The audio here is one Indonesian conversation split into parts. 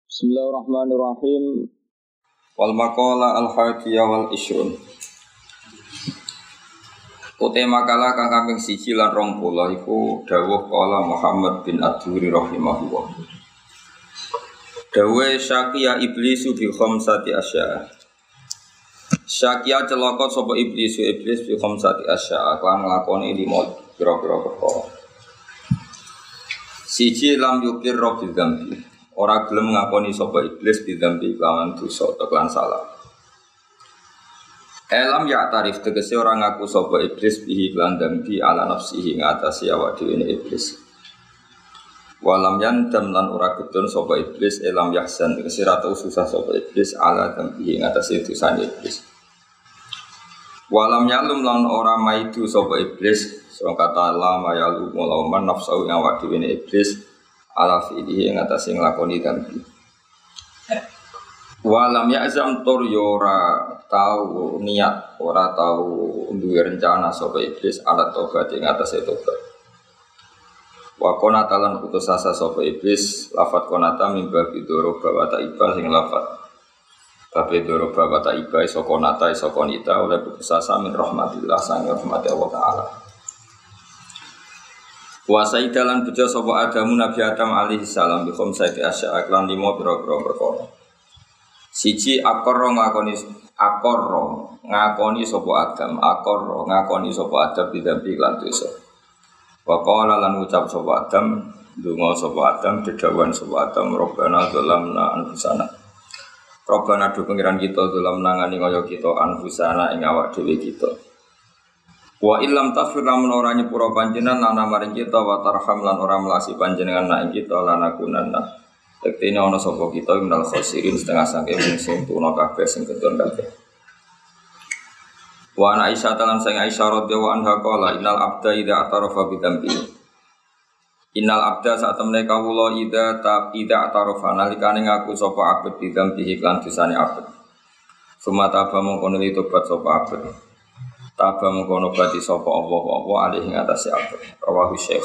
Bismillahirrahmanirrahim. Wal maqala al-hadiyah wal ishrun. Ute makalah kang kaping 1 lan 20 iku dawuh qala Muhammad bin Ad-Duri rahimahullah. Dawuh syaqiya iblisu bi khamsati asya. Syaqiya celaka sapa iblis bi khamsati asya lan nglakoni 5 pira-pira perkara. Siji lam yukir rabbil dzambi. Ora gelem ngakoni sapa iblis bidzambi kelawan dosa lan salah. Elam ya tarif tegese ora ngaku sapa iblis bihi lan dzambi ala nafsihi ngatasi awak dhewe iblis. Walam yandam lan ora gedon sapa iblis elam yahsan tegese ra tau susah sapa iblis ala dzambi ngatasi dosane iblis. Walam yalum lan ora maidu sapa iblis sing kata la mayalu mulauman nafsu awak dhewe iblis ala fi'lihi ngatasi nglakoni dambi. Walam ya'zam tur yora tau niat, ora tau duwe rencana sapa iblis ala tobat ngatasi tobat. Wa qanata lan putus asa sapa iblis lafat qanata mimba bidoro bawata iba sing lafat babe doro bawata iba iso qanata iso qanita oleh putus asa min rahmatillah sang rahmat Allah taala. Wa saidalan bejo sapa Adamu Nabi Adam alaihi salam bi khamsati asya lan 5 pira-pira perkara. Siji akor ngakoni sapa Adam, ngakoni sapa Adam bidampi lan dosa. Wa qala lan ucap sapa Adam, ndonga sapa Adam dedawan sapa Adam Rabbana zalamna anfusana. Rabbana do pengiran kita zalamna ngani kaya kita anfusana ing awak dhewe kita. Wa illam taghfir lamun ora nyepura panjenengan lan maring kita wa tarham lan ora melasi panjenengan nak kita lan akunanna. Tektene ana sapa kita minal khosirin setengah saking sing tuna kabeh sing kedon kabeh. Wa ana Aisyah lan sing Aisyah radhiyallahu anha qala innal abda idza atarafa bi dzambi. Innal abda sak temene kawula idza atarafa nalikane ngaku sapa abd bi dzambi lan dosane abd. Sumata ba mongko nuli tobat sapa abd. Taba mengkono bati sapa Allah alih ing atase abad rawahu Syekh.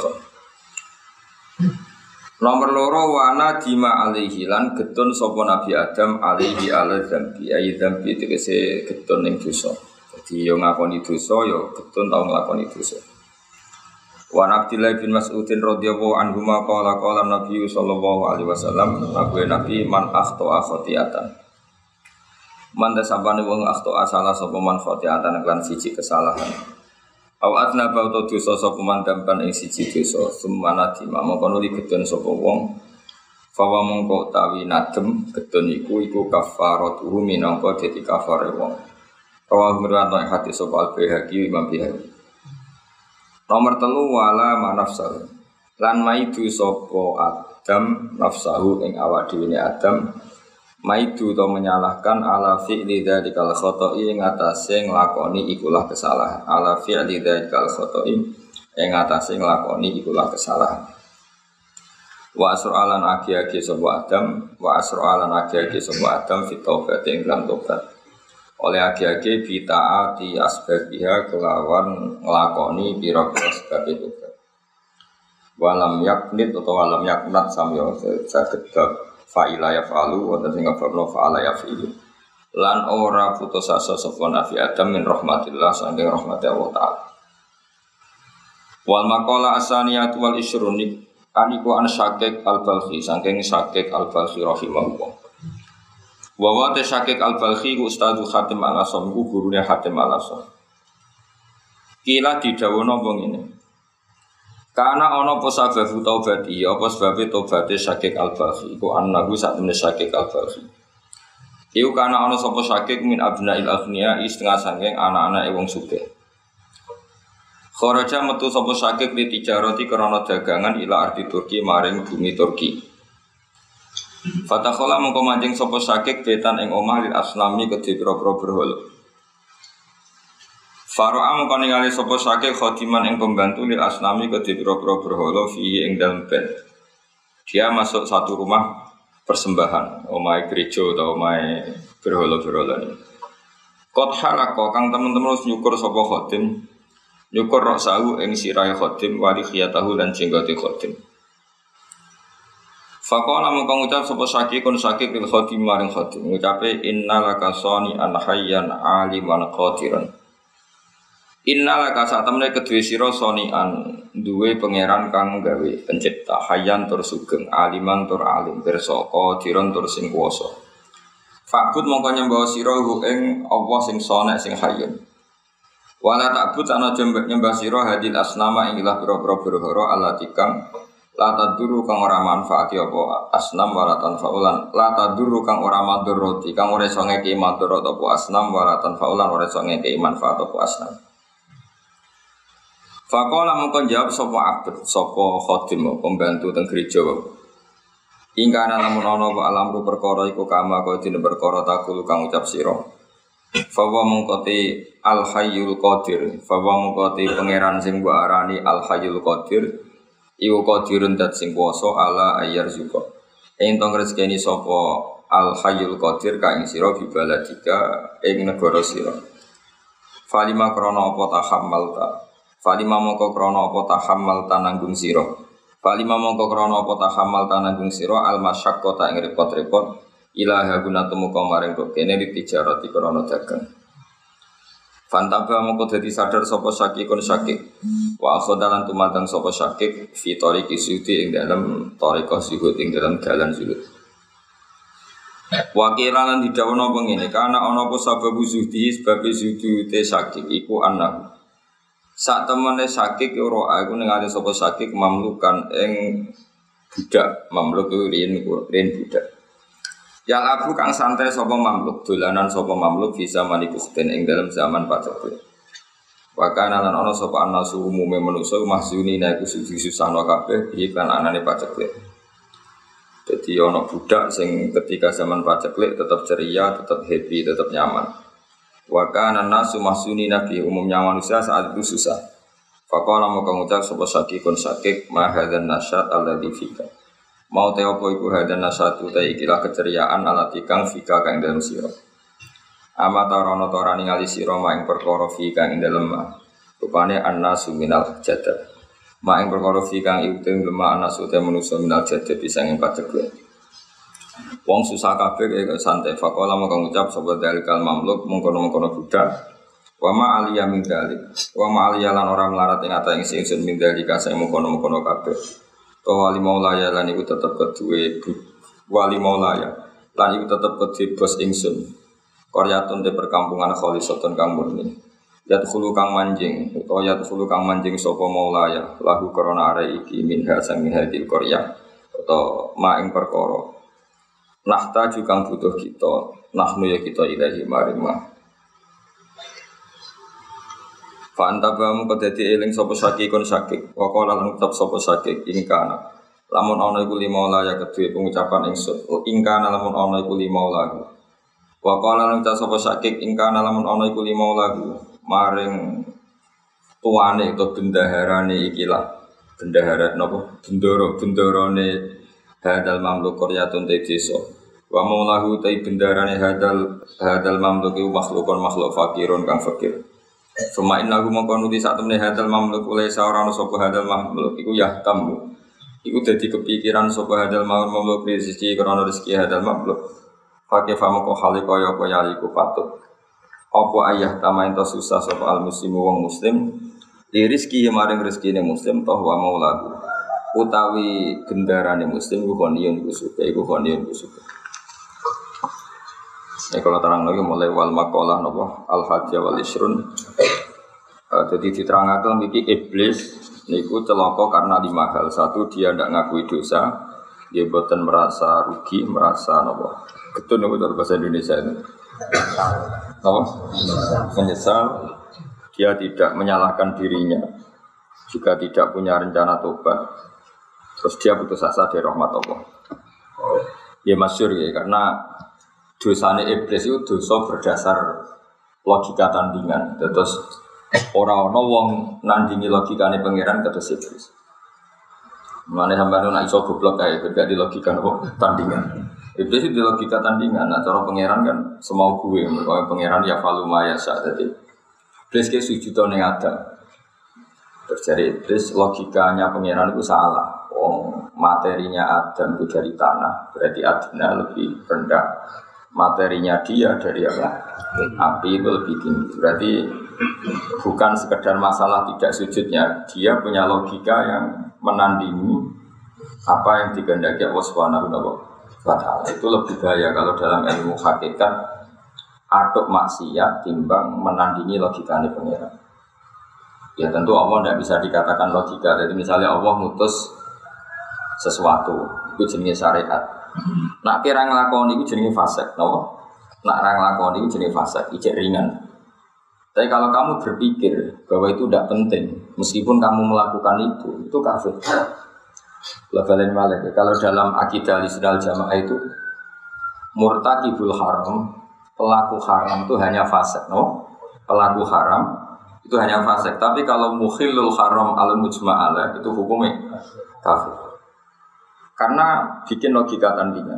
Nomor 2 wana dima alaihi lan getun sapa Nabi Adam alaihi ala dzambi ay dzambi tegese getun ning dosa. Dadi yo ngakoni dosa yo getun tau nglakoni dosa. Wa Abdullah bin Mas'ud radhiyallahu anhu qala Nabi sallallahu alaihi wasallam Nabi man akhta khati'atan. Manda sabane wong akhto asala sapa man khotiatan lan siji kesalahan. Aw atna bauto dosa sapa man dampan ing siji dosa, sumana dima mongko nuli gedon sapa wong. Fawa mongko tawi nadem gedon iku kafaratuhu minangka dadi kafare wong. Rawa mirwanto hati sapa al-Baihaqi Imam Baihaqi. Nomor 3 wala manafsal. Lan maidu sapa Adam nafsahu ing awak dhewe Adam. Maidu to menyalahkan ala fi'li dzikal khata'i ing atase nglakoni ikulah kesalahan. Ala fi'li dzikal khata'i ing atase nglakoni ikulah kesalahan. Wa asra'alan agi-agi sapa Adam fi taubat ing lan tobat. Oleh agi-agi bi taati asbabiha kelawan nglakoni pira-pira sebab tobat. Walam yaknit utawa walam yaknat samya saged fa'ila yaf'alu wa tadzinga fa'ala yaf'ilu lan ora putus asa sapa Nabi Adam min rahmatillah saking rahmati Allah taala. Wal maqala asaniyatu wal ishrun aniku an Syakik al-Balkhi saking Syakik al-Balkhi rahimahullah. Wa wa Syakik al-Balkhi Ustadz Hatim al-Asam gurune Hatim al-Asam. Kila didhawuhna wong ngene. Karena ana apa sebab taubati, apa sebab taubate Syakik al-Balkhi iku annahu sak temene Syakik al-Balkhi. Iku karena ana sapa Syakik min abnail aghnia setengah saking anak-anak wong sugih. Kharaja metu sapa Syakik li tijarati krana dagangan ila ardi Turki maring bumi Turki. Fatakhala mengko manjing sapa Syakik betan ing omah lil aslami kedhe pira-pira berhala. Faro'a mengko ningali sapa Syakik khadiman ing pembantu lil asnami kedhe pira-pira berhala fi ing dalem ben. Dia masuk satu rumah persembahan, omahe gereja atau omahe berhala-berhala ini. Qad halaqo kang teman-teman nyukur sapa khadim, nyukur roksahu ing sirahe khadim wali khiyatahu lan jenggote khadim. Faqala mongko ngucap sapa Syakikun Syakik lil khadim maring khadim ngucape innalaka sani an hayyan aliman qadiran. Innalaka satemene kedue sira sani an duwe pangeran kang gawe pencipta hayyan tur sugeng aliman tur alim pirsa qadiran tur sing kuwasa. Fa'bud mongko nyembah sira ing Allah sing sane sing hayyun. Wala ta'bud ana nyembah sira hadil asnama ing ilah pira-pira berhala allati kang la taduru kang ora manfaati apa asnam wala tanfaulan la taduru kang ora madharati kang ora iso ngeki madharat apa asnam wala tanfaulan ora iso ngeki manfaat apa asnam. Faqala mongko jawab sapa abd sapa khadim pembantu teng gereja. Ingkana lamun ana apa alamru perkara iku kama kaya dene perkara takul kang ucap sira. Fawa mongkote al hayyul qadir fawa mongkote pangeran sing mbok arani al hayyul qadir. Iku qadirun dat sing kuwasa ala ayyar zuka. Entong rezekine sapa al hayyul qadir ka ing sira bibaladika ing negara sira. Falima krana apa tahammalta. Falima mongko krana apa tahammalta nanggung sira. Falima mongko krana apa tahammalta nanggung sira al masyaqqata ing repot-repot ilaha guna temu kamaring kene ditijarati krana dagang. Fantaba mongko dadi sadar sapa Syakikun Syakik. Wa akhodalan tumadang sapa Syakik fi tariqi sudi ing dalem tariqah zuhud ing dalem dalan zuhud. Wakilan didhawuhna pengene kana ana apa sabab zuhdi sebab zuhudi Syakik iku ana. Sak temene Syakik ora iku ningali sapa Syakik mamlukan ing budak mamluk riyen budak. Yang aku kang santai sapa mamluk dolanan sapa mamluk bisa manikusten ing dalam zaman paceklik. Wa kana lan ana sapa anasu umume manusa mahzuni iku susah-susahno kabeh iklan anane paceklik. Dadi ana budak sing ketika zaman paceklik tetap ceria, tetap happy, tetap nyaman. Wa kana nasu mahzuni nabi umumnya manusia saat itu susah. Faqala maka ngucap sapa Syakikun Syakik ma hadzal nasyat alladzi fika. Mau te apa iku hadan nasatu ta ikilah keceriaan alati kang fika kang dalem sira. Amata rono torani ngali sira maing perkara fika ing dalem ma. Rupane annasu minal jadab. Maing perkara fika ing uteng lemah annasu te manusa minal jadab bisa ing paceklik. Wong susah kabeh kaya santai faqala maka ngucap sapa dalikal mamluk mungkono-mungkono budak. Wa ma aliya min dalik. Wa ma aliya lan ora melarat ing ata ing sing min dalika sing mungkono-mungkono kabeh. Wali maulaya lan iku tetep kedue wali maulaya lan iku tetep kedue bos ingsun qaryatun te perkampungan khalisatun kang murni yadkhulu kang manjing utawa yadkhulu kang manjing sapa maulaya lahu korona are iki minha sang hadil qaryah utawa ma ing perkara nahta kang butuh kita nahnu ya kita ilahi maring ma. Fantabamu kedadi eling sapa Syakikun Syakik. Wa qala lan ucap sapa Syakik ingkana. Lamun ana iku lima ya kedue pengucapan ingsun. Ingkana lamun ana iku lima lahu. Wa qala lan ucap sapa Syakik ingkana lamun ana iku lima lahu. Maring tuane utawa bendaharane ikilah. Bendahara napa? Bendarane hadal mamluk qaryatun te desa. Wa maulahu ta bendarane hadal mamluk iku makhlukun makhluk fakirun kang fakir. Suma innahu mongko nuti sak temene hadal mamluk oleh saorane sapa hadal mamluk iku yahtamu. Iku dadi kepikiran sapa hadal mamluk rezeki krana rezeki hadal mamluk. Fake famoko hale kaya apa yaliku patut. Apa ayah tamain to susah sapa al muslimu wong muslim li rezeki maring rezekine muslim toh wa maulaku. Utawi gendarane muslim iku koniyun kusuke kalau terang lagi mulai wal makalah nopo al hajjah wal isrun. Jadi diterangkan iki iblis niku celaka karena 5 hal. Satu, dia tidak ngakui dosa, dia boten merasa rugi, merasa nopo. Betul nopo dalam bahasa Indonesia itu. Nopo? Menyesal. Dia tidak menyalahkan dirinya, juga tidak punya rencana tobat. Terus dia putus asa dari rahmat Allah. Ya masyhur ya karena dosane iblis itu dosa berdasar logika tandingan. Terus orang wong nandingi logikane pangeran kados iblis. Mane sampeyan nek iso goblok kae gak di logika tandingan. Iblis itu di logika tandingan. Nah cara pangeran kan semau gue, kalau pangeran ya faluma ya sa dadi. Iblis ke sujud ning Adam. Terus dari iblis logikanya pangeran itu salah. Materinya Adam itu dari tanah, berarti adna lebih rendah. Materinya dia dari apa? Api itu lebih tinggi. Berarti bukan sekedar masalah tidak sujudnya, dia punya logika yang menandingi apa yang dikehendaki Allah Subhanahu wa Ta'ala. Itu lebih bahaya kalau dalam ilmu hakikat aduk maksiat timbang menandingi logikanya pengiran. Ya tentu Allah tidak bisa dikatakan logika. Jadi misalnya Allah mutus sesuatu, itu jenis syariat. Nak kira ngelakoni itu jenis fasik, no? Nak ngelakoni itu jenis fasik, ijek ringan. Tapi kalau kamu berpikir bahwa itu tidak penting, meskipun kamu melakukan itu kafir. Lebalin malik. Kalau dalam akidah Ahlussunnah Jamaah itu murtakibul haram, pelaku haram itu hanya fasik, no? Pelaku haram itu hanya fasik. Tapi kalau mukhillul haram al mujma'alah itu hukumnya kafir. Karena bikin logika tandingan.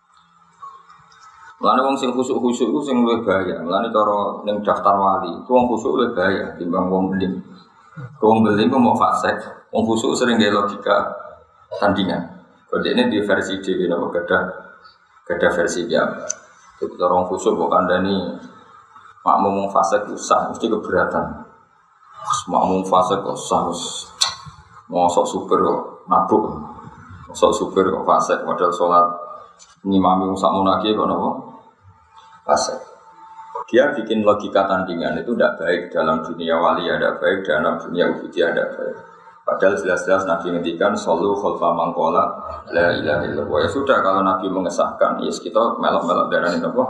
Mulane wong sing khusuk-khusuk iku sing luwih bahaya. Mulane cara ning daftar wali, itu wong khusuk luwih bahaya timbang wong beling. Wong beling kok mau fasik, wong khusuk sering gawe logika tandingan. Kodene di versi dhewe napa gadah versi dia. Itu cara wong khusuk kok kandhani makmum wong fasik usah mesti keberatan. Makmum fasik kok usah mosok super kok mabuk. Sok supir kok fasik modal sholat ngimami sak munaki kok napa fasik. Dia bikin logika tandingan itu tidak baik dalam dunia wali, ada baik dalam dunia ubudiyah ada baik. Padahal jelas-jelas Nabi ngendikan sallu khalfa man qala la ilaha illallah. Ya sudah kalau Nabi mengesahkan, yes kita melok-melok darani napa.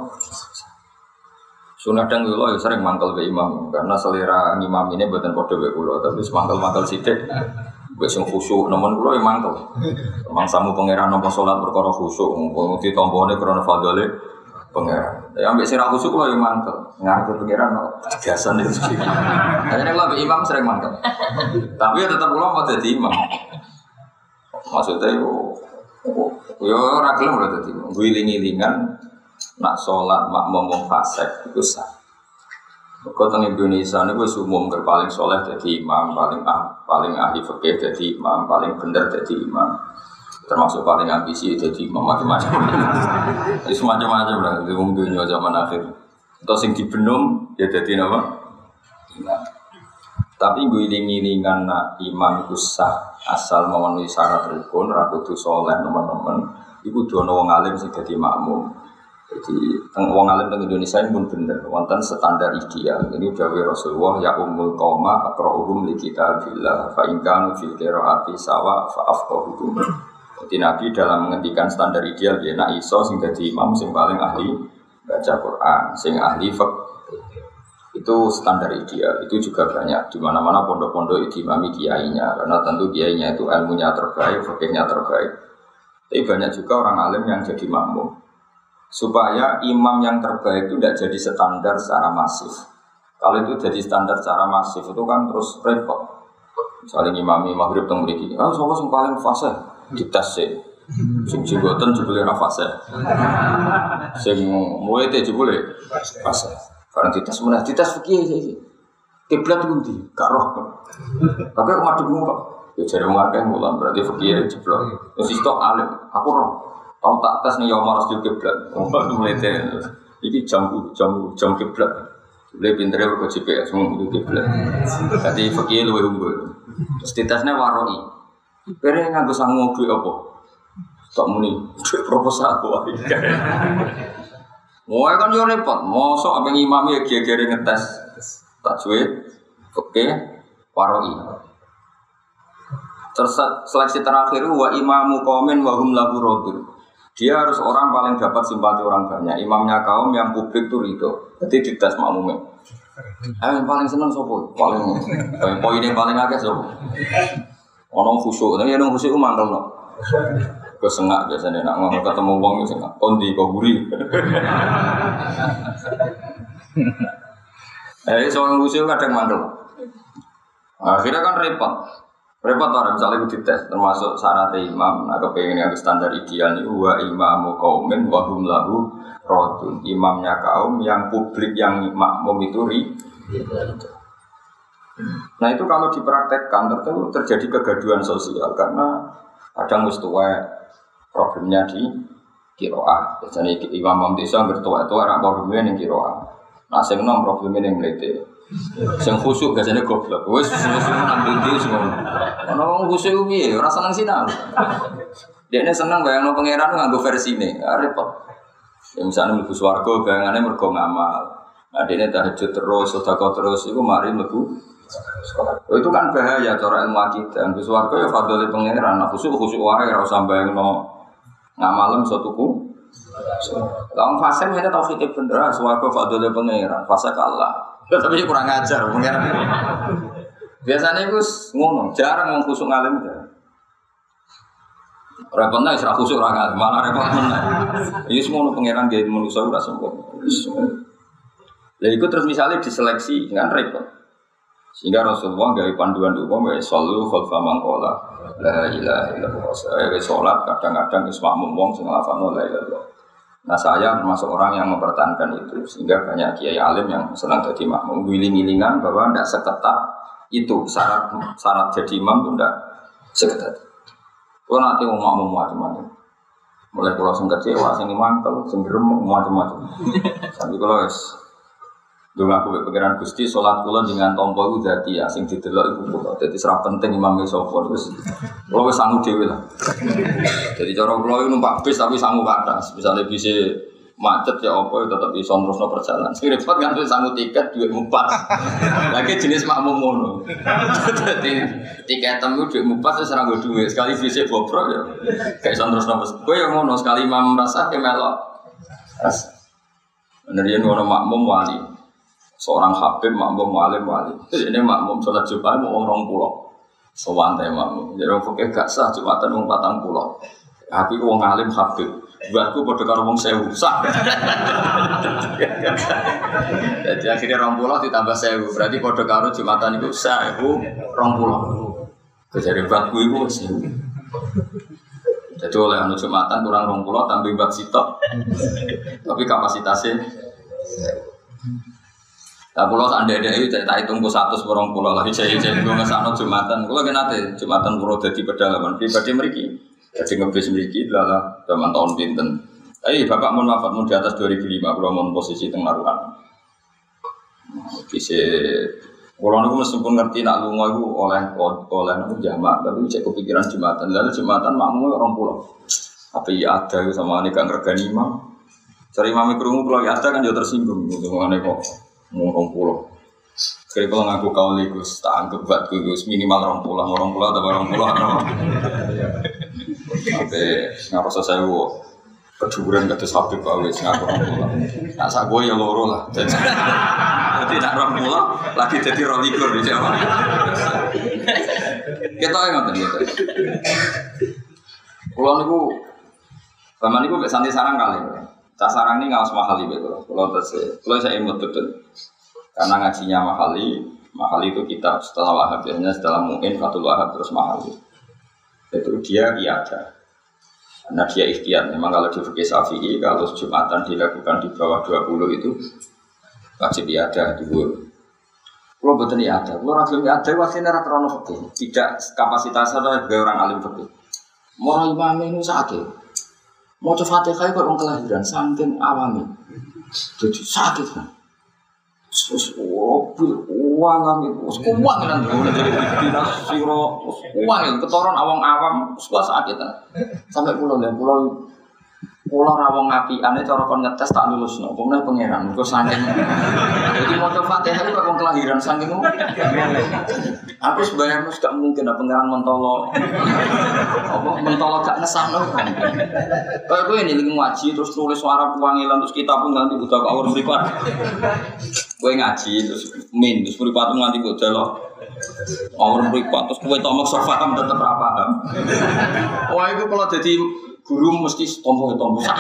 Sunah dan kula ya sering mangkel be imam karena selera ngimam ini mboten padha wae kula, tapi mangkel-mangkel sithik. Wis khusyuk nemen kula ya mangkel. Mangsamu pangeran nampa salat perkara khusyuk, mumpung ditompone krana fadhole pangeran. Ya ambek sira khusyuk kula ya mangkel. Ngarep pangeran biasa nek iki. Ajane kula imam sering mangkel. Tapi ya tetep kula mau dadi imam. Maksudnya yo ora gelem ora dadi. Guling-gilingan nak salat makmum wong fasik iku sah. Kau teng Indonesia ini wis umum paling soleh jadi imam, paling ahli fikih jadi imam, paling bener jadi imam, termasuk paling ambisi jadi imam macam-macam. Jadi semacam-macam lah di dunia zaman akhir. Atau sing dibenum ya jadi apa? Imam. Tapi gue iling-ilingan imam itu sah asal memenuhi syarat rukun, rakutu soleh teman-teman. Ibu dono wong alim sing jadi makmum. Jadi wong alim teng Indonesia ini pun bener wonten standar ideal. Ini dawuh Rasulullah ya ummul qauma aqra'uhum li kitabillah fa in kanu fil qiraati sawa fa afqahuhum. Jadi Nabi dalam menghentikan standar ideal dia nak iso sing dadi imam sing paling ahli baca Quran, sing ahli fiqh. Itu standar ideal. Itu juga banyak di mana-mana pondok-pondok diimami kiainya karena tentu kiainya itu ilmunya terbaik, fikihnya terbaik. Tapi banyak juga orang alim yang jadi makmum. Supaya imam yang terbaik itu tidak jadi standar secara masif. Kalau itu jadi standar secara masif itu kan terus repot. Misalnya imami maghrib teng mriki, sapa sing paling fasih dites sih. Sing jenggoten jebule ora fasih. Sing muwete jebule fasih. Karena dites meneh dites fikih iki. Kiblat pundi? Gak roh. Tapi madhepmu kok. Ya jare wong akeh mulan berarti fikih jeblok. Wis istok alim, aku roh. Tahu tak tes nih Yomar harus kiblat, mulai terus. Ini jam kiblat. Boleh pinternya berkocip ya, semua itu kiblat. Jadi fakir lu unggul. Terus di tesnya waroi. Pernah nggak bisa ngobrol apa? Tak muni, proposal apa? Mau kan yo repot, mau sok abang imam ya kira-kira ngetes tak cuy, fakir waroi. Terus seleksi terakhir wa imamu qaumin wa hum lahu radun. Dia harus orang paling dapat simpati orang banyak. Imamnya kaum yang publik itu ridho. Jadi dites makmumnya. Yang paling seneng sopo? Paling poinnya paling akeh sopo? Ono khusyuk. Tapi yang khusyuk itu mangkel no. Kesengak biasanya nak ngomong ketemu wong itu sengak. Kondi koguri. Soal khusyuk kadang mangkel. Akhirnya kan repot. Repot orang misalnya itu dites termasuk syarat imam. Nah kepengen yang standar ideal ini wa imamu qaumin wa hum lahu radun. Imamnya kaum yang publik yang makmum itu Nah itu kalau dipraktekkan tentu terjadi kegaduhan sosial karena Kadang wis tuwa problemnya di qiraah. Biasane imam desa bertuwa-tuwa ora problemnya ning qiraah. Nah sing nom problemnya ning mlete. Sing khusuk biasane goblok. Wis nang ndi ngono. Ono wong khusuk piye ora seneng sinau. Dekne seneng bayangno pangeran nganggo versine, repot. Ya misalnya mlebu swarga bayangane mergo ngamal. Nah dekne tahajud terus, sedekah terus iku mari mlebu. Oh, itu kan bahaya cara ilmu akidah. Mlebu swarga ya fadhole pangeran. Nah khusuk wae ora usah bayangno ngamalem iso tuku. Wong fasik ngene tauhid bener, swarga fadhole pangeran, fasik Allah. Tapi kurang ajar pangeran. Biasane iku ngono, jarang wong khusuk ngalim jarang. Repotnya isra khusuk ora ngalim, malah repot meneh. Iki semono pangeran gawe manusa ora sempurna. Lha iku terus misalnya diseleksi kan repot. Sehingga Rasulullah gawe panduan umum ya sallu khalfa man qala la ilaha illallah. Saya salat kadang-kadang wis makmum wong sing nglafadzno la ilaha illallah. Nah saya termasuk orang yang mempertahankan itu sehingga banyak kiai alim yang senang jadi makmum wiling-wilingan bahwa tidak seketat itu syarat jadi imam itu tidak seketat. Kalau nanti mau makmum macam-macam, mulai pulau sing kecewa, sing mangkel, sing gerem macam-macam. Sampai kalau dulu aku berpikiran Gusti sholat kula dengan tompo itu jadi ya sing didelok iku kula. Dadi serap penting imam sapa terus. Kula wis sangu dhewe lah. Jadi cara kula iku numpak bis tapi sangu kathah. Misale bis macet ya apa tetep iso terusno perjalanan. Sing repot kan wis sangu tiket dhuwit 4. Lagi jenis makmum ngono. Dadi tiket temu dhuwit 4 wis ora nggo dhuwit. Sekali bis bobrok ya gak iso terusno. Kowe ya ngono sekali imam rasa ke melok. Bener yen ono makmum wali. Seorang habib makmum alim wali. Ini makmum sholat Jumat mau orang pulau. Sewantai makmum. Jadi orang fakir gak sah Jumatan mau 40. Aku wong alim habib. Buatku pada karo wong sewu sah. Jadi akhirnya orang pulau ditambah sewu. Berarti pada karo Jumatan itu sah. Itu orang pulau. Jadi buatku itu sewu. Jadi oleh anu Jumatan kurang orang pulau tambah buat sitok. Tapi kapasitasnya nah, pulau anda-anda itu tak hitung ku 100 orang pulau lagi saya gue ngesano Jumatan. Kalau kena Jumatan pulau jadi pedalaman pribadi mereka, jadi ngebis mereka adalah zaman tahun pinten. Bapak mohon maaf, mau di atas 2005 pulau mau posisi tengaruhan. Bisa pulau itu meskipun ngerti nak lunga itu oleh jamak, tapi saya kepikiran Jumatan. Lalu Jumatan makmum orang pulau. Tapi ya ada itu sama ini kan regani imam. Cari imam kerungu pulau ya ada kan juga tersinggung gitu mengenai kok. Ngomong pulau, kira kalau ngaku kau ligus, tak anggap buat gugus minimal orang pulau atau orang pulau sampai ngaros saya wo kecuburan kata sapi kau wes ngaku orang pulau, nak sak gue ya loro lah, jadi nak orang pulau lagi jadi rolikur di Jawa, kita yang ngerti gitu, pulau niku, zaman niku santai sarang kali. Sarang ini ngawas mahali betul. Kalau saya imut betul, karena ngajinya mahali itu kitab setelah Wahab biasanya setelah Mu'in, Fathul Wahab terus mahali. Itu dia ada. Karena dia ikhtiar. Memang kalau di fikih Syafi'i kalau Jumatan dilakukan di bawah 20 itu wajib ada dulu. Kalau betul ada, kalau ragil ada wasinya rata-rata fikih. Tidak kapasitasnya sebagai orang alim fikih. Mau imam ini sakit. Mau coba Fatihah kok orang kelahiran saking awami, jadi sakit kan. Terus mobil uang itu, uang kan, jadi dinas siro, uang itu ketoran awang-awam, suka sakit kan. Sampai pulau rawong api, aneh cara kon ngetes tak lulus, no, kemudian pangeran, kau saking. Jadi mau coba Fatihah kok orang kelahiran saking. Aku sebenarnya gak mungkin ada pangeran mentolo, gak ngesahno. Kayak gue ini lagi ngaji terus nulis suara puangilan terus kita pun nanti buta kawur beripat. Gue ngaji terus terus beripat nanti gue jalo kawur beripat terus gue tomok sofam tetap paham. Wah itu kalau jadi guru mesti tompo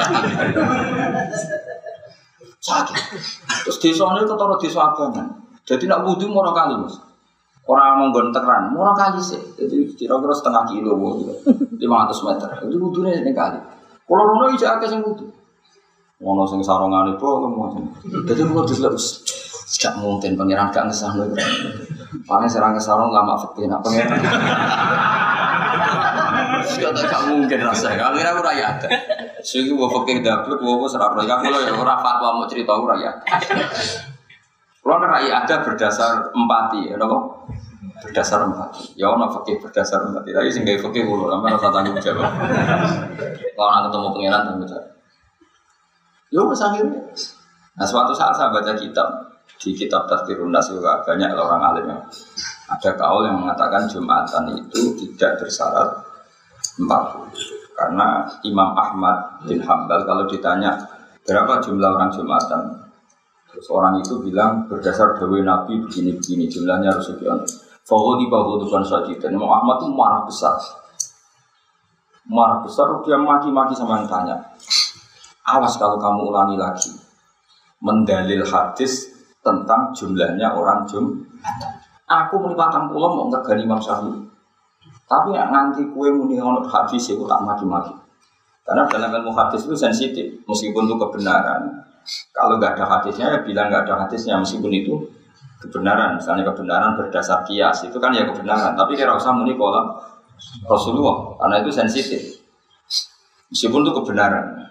sakit. Terus desa ini ketara desa abangan. Jadi nak wudu murah kali mas. Orang menggon teran, murah kali sih. Jadi kira-kira setengah kilo, 500 meter. Itu wudunya ini kali. Kalau rono itu agak sing wudu. Ngono sing sarungan itu macam. Jadi kalau diselus, tidak mungkin pangeran gak ngesahno. Paling serang ngesahno lama fikih nak pangeran. Gak mungkin rasanya. Akhirnya aku rakyat. Segi gue pakai dapur, gue serap rakyat. Kalau ya orang fatwa mau cerita aku rakyat. Kalau rakyat ada berdasar empati, ya nopo. Berdasar empati. Ya ono fakih berdasar empati. Tapi sing gawe fakih kulo sampe rasa tanggung jawab. Kalau nak ketemu pangeran tanggung jawab. Yo wis akhirnya. Nah suatu saat saya baca kitab di kitab Tazkirun Nas juga banyak orang alim yang ada kaul yang mengatakan Jumatan itu tidak bersyarat 40. Karena Imam Ahmad bin Hambal kalau ditanya berapa jumlah orang Jumatan, terus orang itu bilang berdasar dawai Nabi begini-begini jumlahnya harus sekian. Fawdi bukan saja. Dan Imam Ahmad itu marah besar. Marah besar dia maki-maki sama yang tanya. Awas kalau kamu ulangi lagi mendalil hadis tentang jumlahnya orang Jumatan. Aku muni 40 mau ngegani Imam Syafi'i. Tapi nganti kue muni ono hadis itu tak maki-maki. Karena dalam ilmu hadis itu sensitif, meskipun itu kebenaran. Kalau nggak ada hadisnya ya bilang nggak ada hadisnya meskipun itu kebenaran. Misalnya kebenaran berdasar kias itu kan ya kebenaran. Tapi kira usah muni kolam Rasulullah karena itu sensitif. Meskipun itu kebenaran.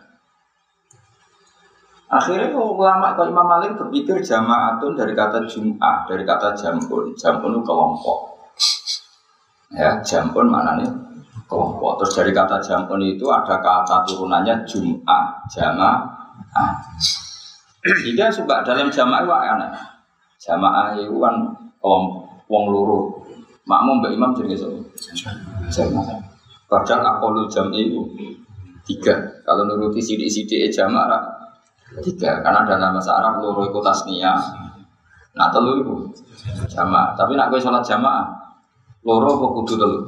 Akhirnya ulama kalau Imam Malik berpikir jamaatun dari kata jum'ah, dari kata jampun. Jampun itu kelompok. Ya, jampun maknanya kelompok. Terus dari kata jampun itu ada kata turunannya jum'ah, jamaah. Jika suka dalam jamaah itu aneh. Jamaah itu kan kelompok, wong loro. Makmum mbak imam jadi jamaah. Padahal aqallul jam'i itu 3. Kalau nuruti sidik-sidik jamaah 3, karena dalam bahasa Arab loro iku tasniyah. Nah telu iku jamaah. Tapi nak kowe salat jamaah loro apa kudu telu?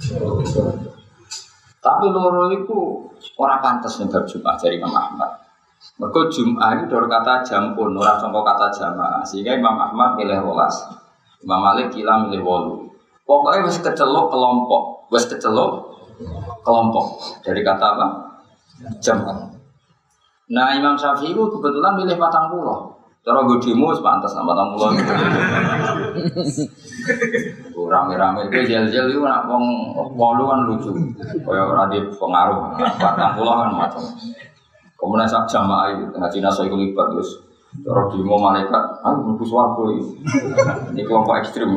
Tapi loro iku ora pantes ning bab Jumat dari Imam Ahmad. Mergo Jumat itu dari kata jampun, ora sangka kata jamaah. Sehingga Imam Ahmad milih 12. Imam Malik kila milih 8. Pokoknya wis kecelok kelompok, wis kecelok kelompok. Dari kata apa? Jamaah. Nah Imam Syafi'i itu kebetulan milih 40. Cara gue demo sepantas sama 40. Rame-rame itu jel-jel itu nak wong kan lucu. Kayak ora di pengaruh 40 kan macam. Kemudian sak jamaah itu tengah Cina saya libat terus. Cara demo malaikat, aku mlebu swarga iki. Ini kelompok ekstrim.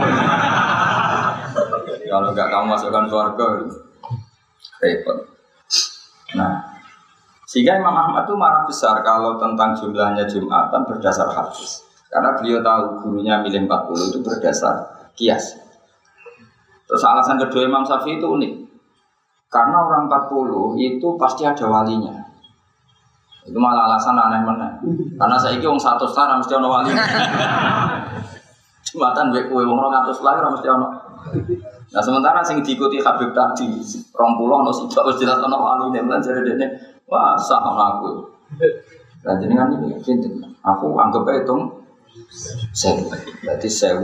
Kalau enggak kamu masukkan swarga repot. Nah sehingga Imam Ahmad itu marah besar kalau tentang jumlahnya Jumatan berdasar hadis. Karena beliau tahu gurunya milih 40 itu berdasar kias. Terus alasan kedua Imam Syafi'i itu unik. Karena orang 40 itu pasti ada walinya. Itu malah alasan aneh-aneh. Karena saya ini orang 100 tahun mesti ada wali. Jumatan baik kue orang 100 lahir mesti ada. Nah sementara yang diikuti Habib tadi 20 no sidak wis jelas ana waline lan jare dene wah sah ana aku. Lah jenengan iki kinten aku anggap ae hitung 1000. Berarti 1000.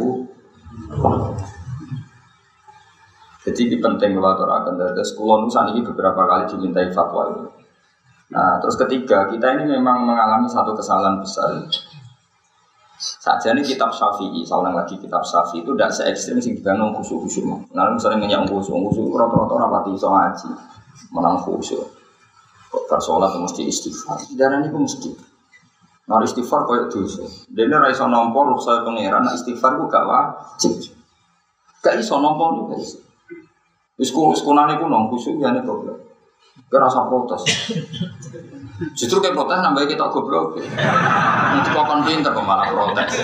Jadi ini penting kalau aturaken terus kula nu saniki beberapa kali dimintai fatwa itu. Nah, terus ketiga, kita ini memang mengalami satu kesalahan besar. Saja ini kitab Syafi'i, saya ulang lagi kitab Syafi'i itu tidak se-ekstrim sing dibangun khusyuk-khusyuk. Nah, misalnya ngenyak khusyuk rata-rata rapati iso ngaji, menang khusyuk. Kok salat mesti istighfar. Darane iku mesti. Nah, istighfar koyo dosa. Dene ra iso nampa ruksa pangeran, nek istighfar ku gak wajib. Gak iso nampa niku, guys. Wis kunane ku nang khusyuk ya nek goblok. Gak rasa protes. Justru kayak protes nambah kita goblok. Nanti kok kon pinter kok malah protes.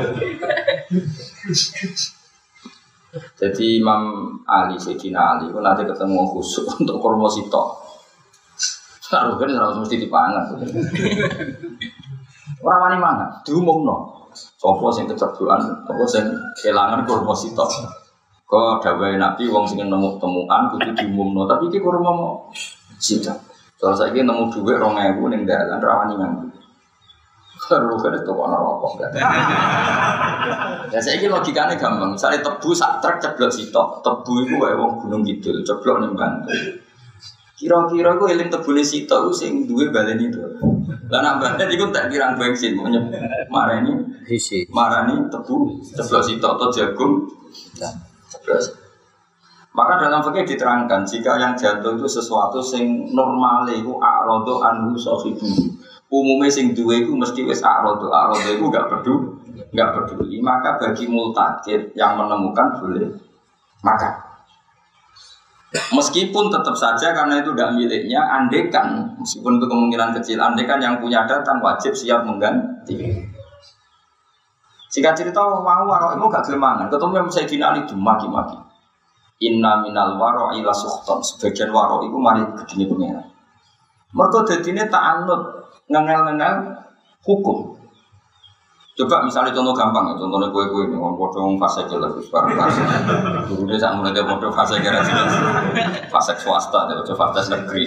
Jadi Imam Ali, Sayyidina Ali, nanti ketemu khusyuk untuk kurma sitok. Harus kan harus mesti dipangan. Orang wani mana? Diumumno. Sopo sing kecerduan, sopo sing kelangan kurma sitok. Kok dawuhe Nabi wong sing nemu temuan kudu diumumno, tapi iki kurma mau sitok. Soal saiki nemu dhuwit 2000 ning dalan rawani nganggo. Karo kene to ana rokok. Ya saiki logikane gampang. Misale tebu sak truk ceblok sitok, tebu iku wae wong Gunung Kidul ceblok ning Bantul. Kira-kira iku eling tebune sitok sing duwe baleni to. Lah nek baleni iku tak kirang bensin marani hisi. Marani tebu ceblok sitok to jagung. Terus Maka dalam fikih diterangkan jika yang jatuh itu sesuatu sing normal itu a'radu anhu sahibu. Umumnya sing duwe itu mesti wis a'radu itu enggak peduli. Maka bagi multakid yang menemukan boleh makan. Meskipun tetap saja karena itu tidak miliknya, andekan meskipun itu kemungkinan kecil, andekan yang punya datang wajib siap mengganti. Jika cerita mau warok itu gak gelmangan, ketemu yang Sayyidina Ali dimaki-maki. Inna minal waro ila sukhton. Sebagian waro itu mari gedini pengira. Mereka dadine ta'anud ngengel-ngengel hukum. Coba misalnya contoh gampang ya, contohnya kue-kue ini, orang potong fase jelas, barang fase. Dulu dia sangat mulai potong fase kira jelas, fase swasta, coba fase negeri.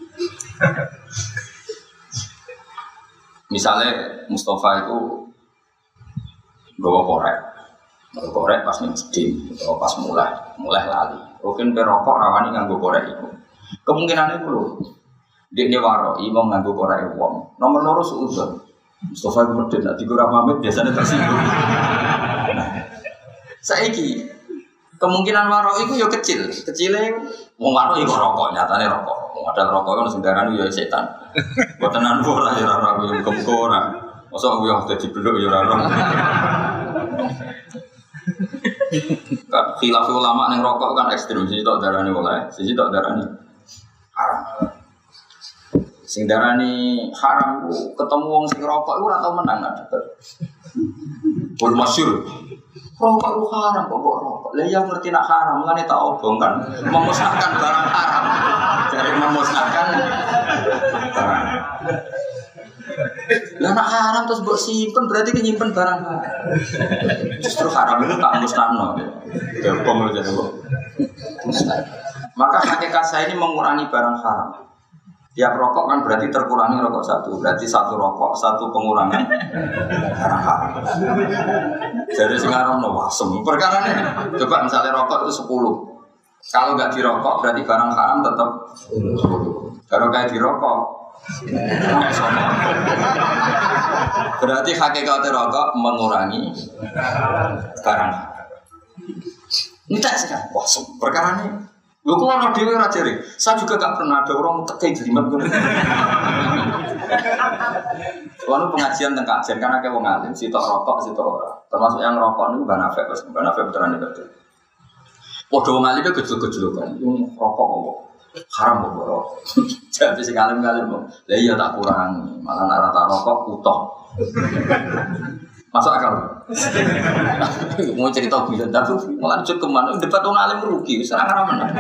Misalnya Mustafa itu bawa korek pas nih masjid, atau pas mulai lali. Mungkin perokok rawani nganggo korek itu. Kemungkinannya dulu, dia waro, imam nganggo korek uang. Nomor loro suudon. Mustafa itu medit, nanti gue pamit biasanya tersinggung. Saiki kemungkinan waro itu ya kecilnya mau waro itu rokok, nyatanya rokok. Mau ada rokok kan sedarah itu ya setan. Buat tenan bola ya rara, gue kemkoran. Masa gue ada di beluk ya rara. Kan khilaf ulama yang rokok kan ekstrim, sisi tak darani boleh, sisi tak darani haram. Sing darani haram ku ketemu wong sing rokok iku ora tau menang debat. Pun masyhur. Rokok itu haram kok rokok. Lah yang ngerti nak haram ngene tak obong kan memusnahkan barang haram. Jadi memusnahkan barang. Lah nak haram terus mbok simpen berarti nyimpen barang haram. Justru haram itu tak musnahno. Gampang aja kok. Maka hakikat saya ini mengurangi barang haram. Tiap rokok kan berarti terkurangi rokok satu. Berarti satu rokok, satu pengurangan barang haram. Jadi sekarang no wasem. Perkara ini, coba misalnya rokok itu 10. Kalau nggak dirokok berarti barang haram tetap 10. Kalau kayak dirokok, berarti hakikat rokok mengurangi barang haram. Ini tak sekarang wasem. Perkara ini. Lu kalau ada dewi rajari, saya juga gak pernah ada orang tekai jelimet gitu. Lalu pengajian tentang kajian karena kayak wong alim, si tok rokok, si tok ora. Termasuk yang rokok ini banafek, beneran betul. Waduh wong alim itu gejol-gejol kan, yang rokok kok haram kok rokok. Jadi si alim-alim kok, lah iya tak kurang, malah rata rokok utuh. Masuk akal. Mau cerita bisa, tapi malah cukup kemana? Debat orang alim rugi, serang mana?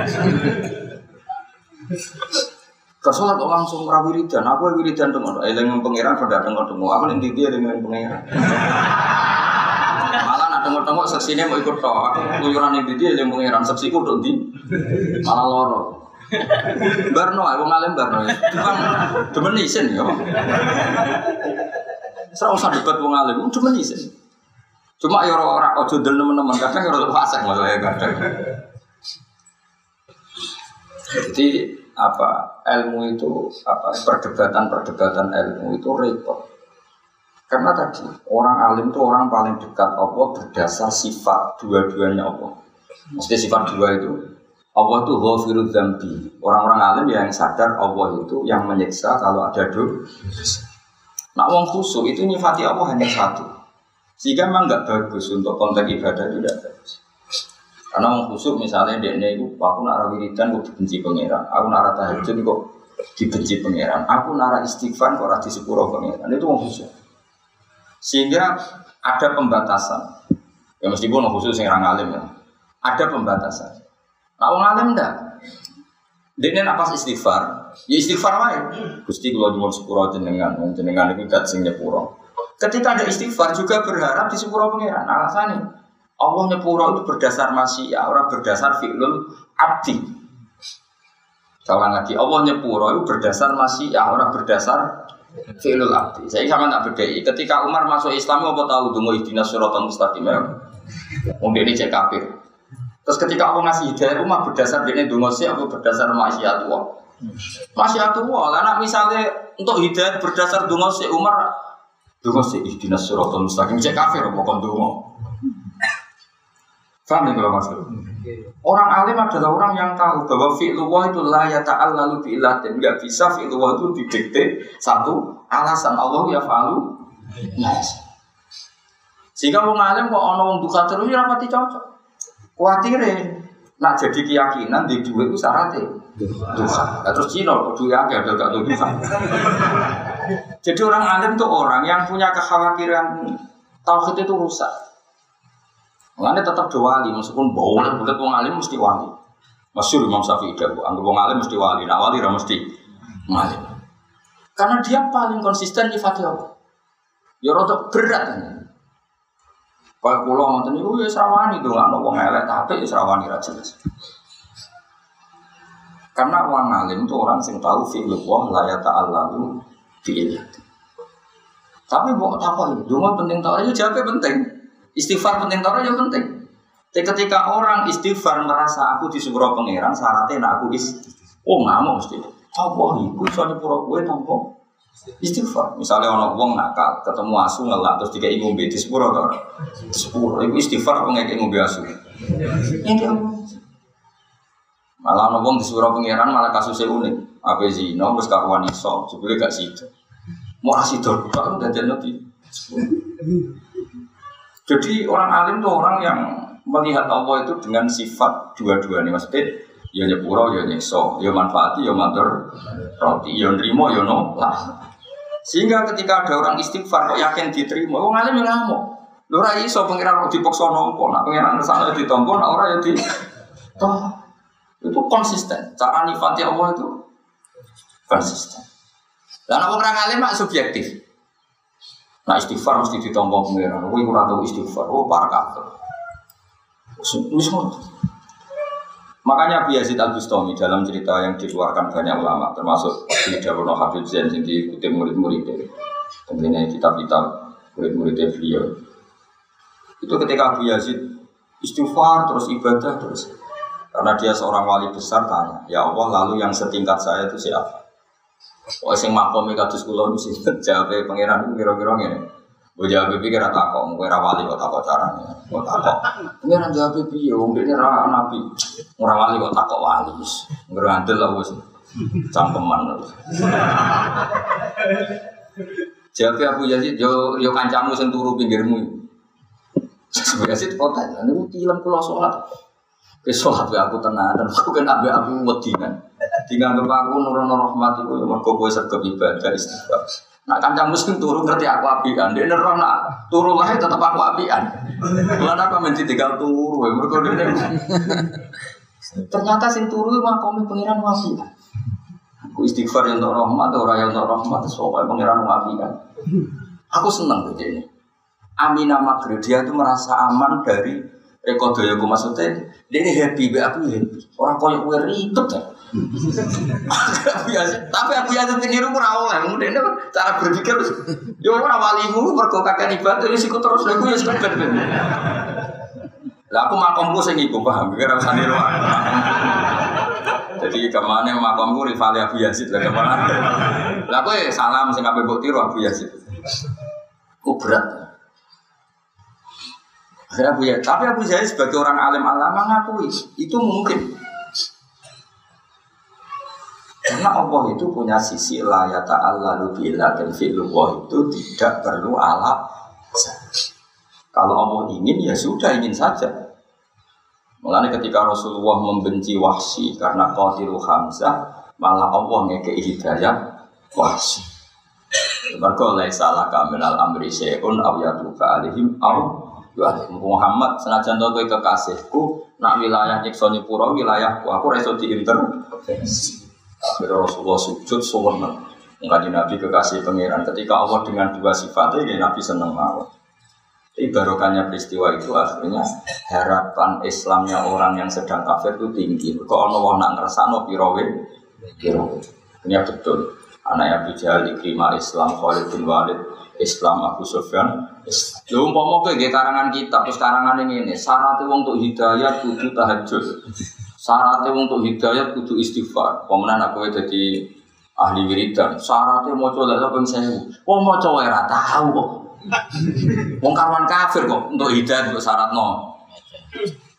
Kesolat kok langsung wiridan. Aku wiridan dengan dengan pangeran pada dengan aku nanti dia dengan pangeran. Malah nak tengok seksinya mau ikut toh. Aku luyuran nanti dia dengan pangeran seksiku tuh di malah loro. Barno, aku ngalim barno. Cuma nisen ya. Serah usah debat wong alim, cuma isin. Cuma ya ora ojo del teman-teman, kadang ya ora fasik masalah kadang. Jadi apa ilmu itu apa perdebatan ilmu itu repot. Karena tadi orang alim itu orang paling dekat Allah berdasar sifat dua-duanya Allah. Mesti sifat dua itu Allah itu ghafirudz dzambi. Orang-orang alim yang sadar Allah itu yang menyiksa kalau ada dosa. Nak wong khusyuk itu nyifati Allah hanya satu, sehingga memang nggak bagus untuk konteks ibadah itu tidak bagus. Karena wong khusyuk misalnya dia itu, aku nara wiridan kok dibenci pangeran, aku nara tahajud kok dibenci pangeran, aku nara istighfar kok radi sepuro pangeran, itu wong khusyuk. Sehingga ada pembatasan, ya meskipun wong khusyuk sing orang alim ya, ada pembatasan. Nah wong alim enggak. Dene nak pas istighfar, ya istighfar wae. Gusti kula nyuwun sepuro jenengan iku dat sing nyepuro. Ketika ada istighfar juga berharap di sepuro pangeran. Alasane Allah nyepuro itu berdasar masyiah, ora berdasar fi'lul abdi. Salah lagi, Allah nyepuro itu berdasar masyiah, ora berdasar fi'lul abdi. Saya sama tak bedai. Ketika Umar masuk Islam apa tahu donga ihdinas siratal mustaqim. Wong dene cek kafir. Terus ketika aku ngasih hidayah rumah berdasar dia dongosi aku berdasar maksiatullah. Maksiatullah. Karena misalnya untuk hidayah berdasar dongosi Umar dongosi ihdinas siratal mustaqim cek kafir apa kon dongo. Paham nih kalau maksud? Orang alim adalah orang yang tahu bahwa fi'lullah itu la yata'allalu bi'illatin. Enggak bisa fi'lullah itu didikte satu alasan Allah ya fa'alu. Yes. Sehingga wong alim kok ana wong duka terus ya rapati cocok. Kuatire nak jadi keyakinan di duwe ku syaratnya duka. Terus Cina kok duwe akeh ada gak duka. Jadi orang alim itu orang yang punya kekhawatiran tauhid itu rusak. Makanya tetap wali, meskipun boleh wong alim mesti wali. Masyhur Imam Syafi'i dawuh, anggap wong alim mesti wali, nak wali ra mesti alim. Karena dia paling konsisten nyifati Allah. Ya rada berat. Kayak kula ngoten niku ya srawani ndongakno wong elek tapi ya srawani ra jelas. Karena orang alim itu orang sing tahu fi'lullah la yata'allalu bi'illah. Tapi mbok takoki, donga penting ta ora ya jawabe penting. Istighfar penting ta ora ya penting. Ketika orang istighfar merasa aku disepuro pangeran syaratnya nak aku ngamuk mesti. Apa iku iso nyepuro kowe tanpa istighfar. Misalnya ana wong nakal, ketemu asu ngelak terus dikeki ngombe disepuro ta ora? Disepuro. Iku istighfar apa ngekeki ngombe asu? Malah ana wong disepuro pangeran malah kasusnya unik. Ape zina wis karuan iso, jebule gak sida. Mau asidor kok dadekno di. Jadi orang alim itu orang yang melihat Allah itu dengan sifat dua-duanya, maksudnya ya nyepuro, ya nyekso, ya manfaati, ya matur roti, ya nrimo, ya nolak. Sehingga ketika ada orang istighfar kok yakin diterima, orang alim yang ngamuk. Lho ra iso pengiran kok dipaksa nampa, nek pengiran kesana ditampa, nek ora ya di toh. Itu konsisten. Cara nifati Allah itu konsisten. Lah nek orang alim mak subjektif. Nah istighfar mesti ditampa pengiran. Kowe ora tau istighfar, oh para kafir. Makanya Abu Yazid Al-Bustami dalam cerita yang dikeluarkan banyak ulama, termasuk di Dawono Habib Zain yang diikuti murid-muridnya, tentunya kitab-kitab murid-muridnya beliau. Itu ketika Abu Yazid istighfar terus ibadah terus, karena dia seorang wali besar tanya, ya Allah lalu yang setingkat saya itu siapa? Oh sing makom kados kula mesti jawabe pangeran kira-kira ngene. Mbok jawab pikir ora takok, kowe ora wali kok takok carane. Kok takok. Pangeran jawab piye wong dene ora nabi. Ora wali kok takok wali. Ngrandel lah wis. Cangkeman. Jawab Abu Yazid yo kancamu sing turu pinggirmu. Abu Yazid kota niku tilem kula salat. Ke salat aku tenanan, aku kan ambek aku wedingan. Dianggap aku nurono rahmat iku mergo kowe sregep ibadah istighfar. Nak kancamu sing turu ngerti aku apian, dene ora nak turu wae tetep aku apian. Lan aku men ditinggal turu mergo dene. Ternyata sing turu makome pangeran apian. Aku istighfar yang untuk rahmat ora yang untuk rahmat soal pangeran apian. Aku seneng begini. Aminah Maghrib dia itu merasa aman dari rekodoyaku maksudnya dia ini happy, aku happy. Orang koyo kowe ribet ya. Tapi aku yang niru ora oleh, kemudian cara berpikir yo ora walimu mergo kakek ibadah wis iku terus lha iku ya sekedar. Lah aku makomku sing iku paham, ora usah niru. Jadi kemana makomku rival Abu Yazid lah kemana. Lah kowe salam sing kabeh mbok tiru Abu Yazid. Ku berat. Tapi Abu Yazid sebagai orang alim alama ngakui itu mungkin. Karena Allah itu punya sisi la yata'allalu bi'illatin fi'lullah itu tidak perlu alat. Kalau Allah ingin ya sudah ingin saja. Mulanya ketika Rasulullah membenci Wahsy karena qatilu Hamzah, malah Allah ngekei hidayah Wahsy. Mergo laisa laka minal amri syai'un aw yatufa alaihim aw Muhammad senajan to kowe kekasihku nak wilayah nyiksa nyepuro wilayahku aku ora iso diintervensi. Akhirnya Rasulullah sujud suweneng. Kanjeng Nabi kekasih pangeran ketika Allah dengan dua sifatnya ya Nabi seneng mawon. Barokahnya peristiwa itu akhirnya harapan Islamnya orang yang sedang kafir itu tinggi. Kok ana wong nak ngrasakno pirawe. Ini betul. Anak Abu Jahal diterima Islam, Khalid bin Walid Islam, Abu Sufyan. Lha umpama kowe nggih karangan kitab, terus karangane ngene, syarat wong untuk hidayah kudu tahajud. Syaratnya untuk hidayah kudu istighfar. Pemenang aku jadi ahli wiridan. Syaratnya mau coba lah pun saya. Oh mau coba ya tahu kok. Wong karuan kafir kok untuk hidayah untuk syarat no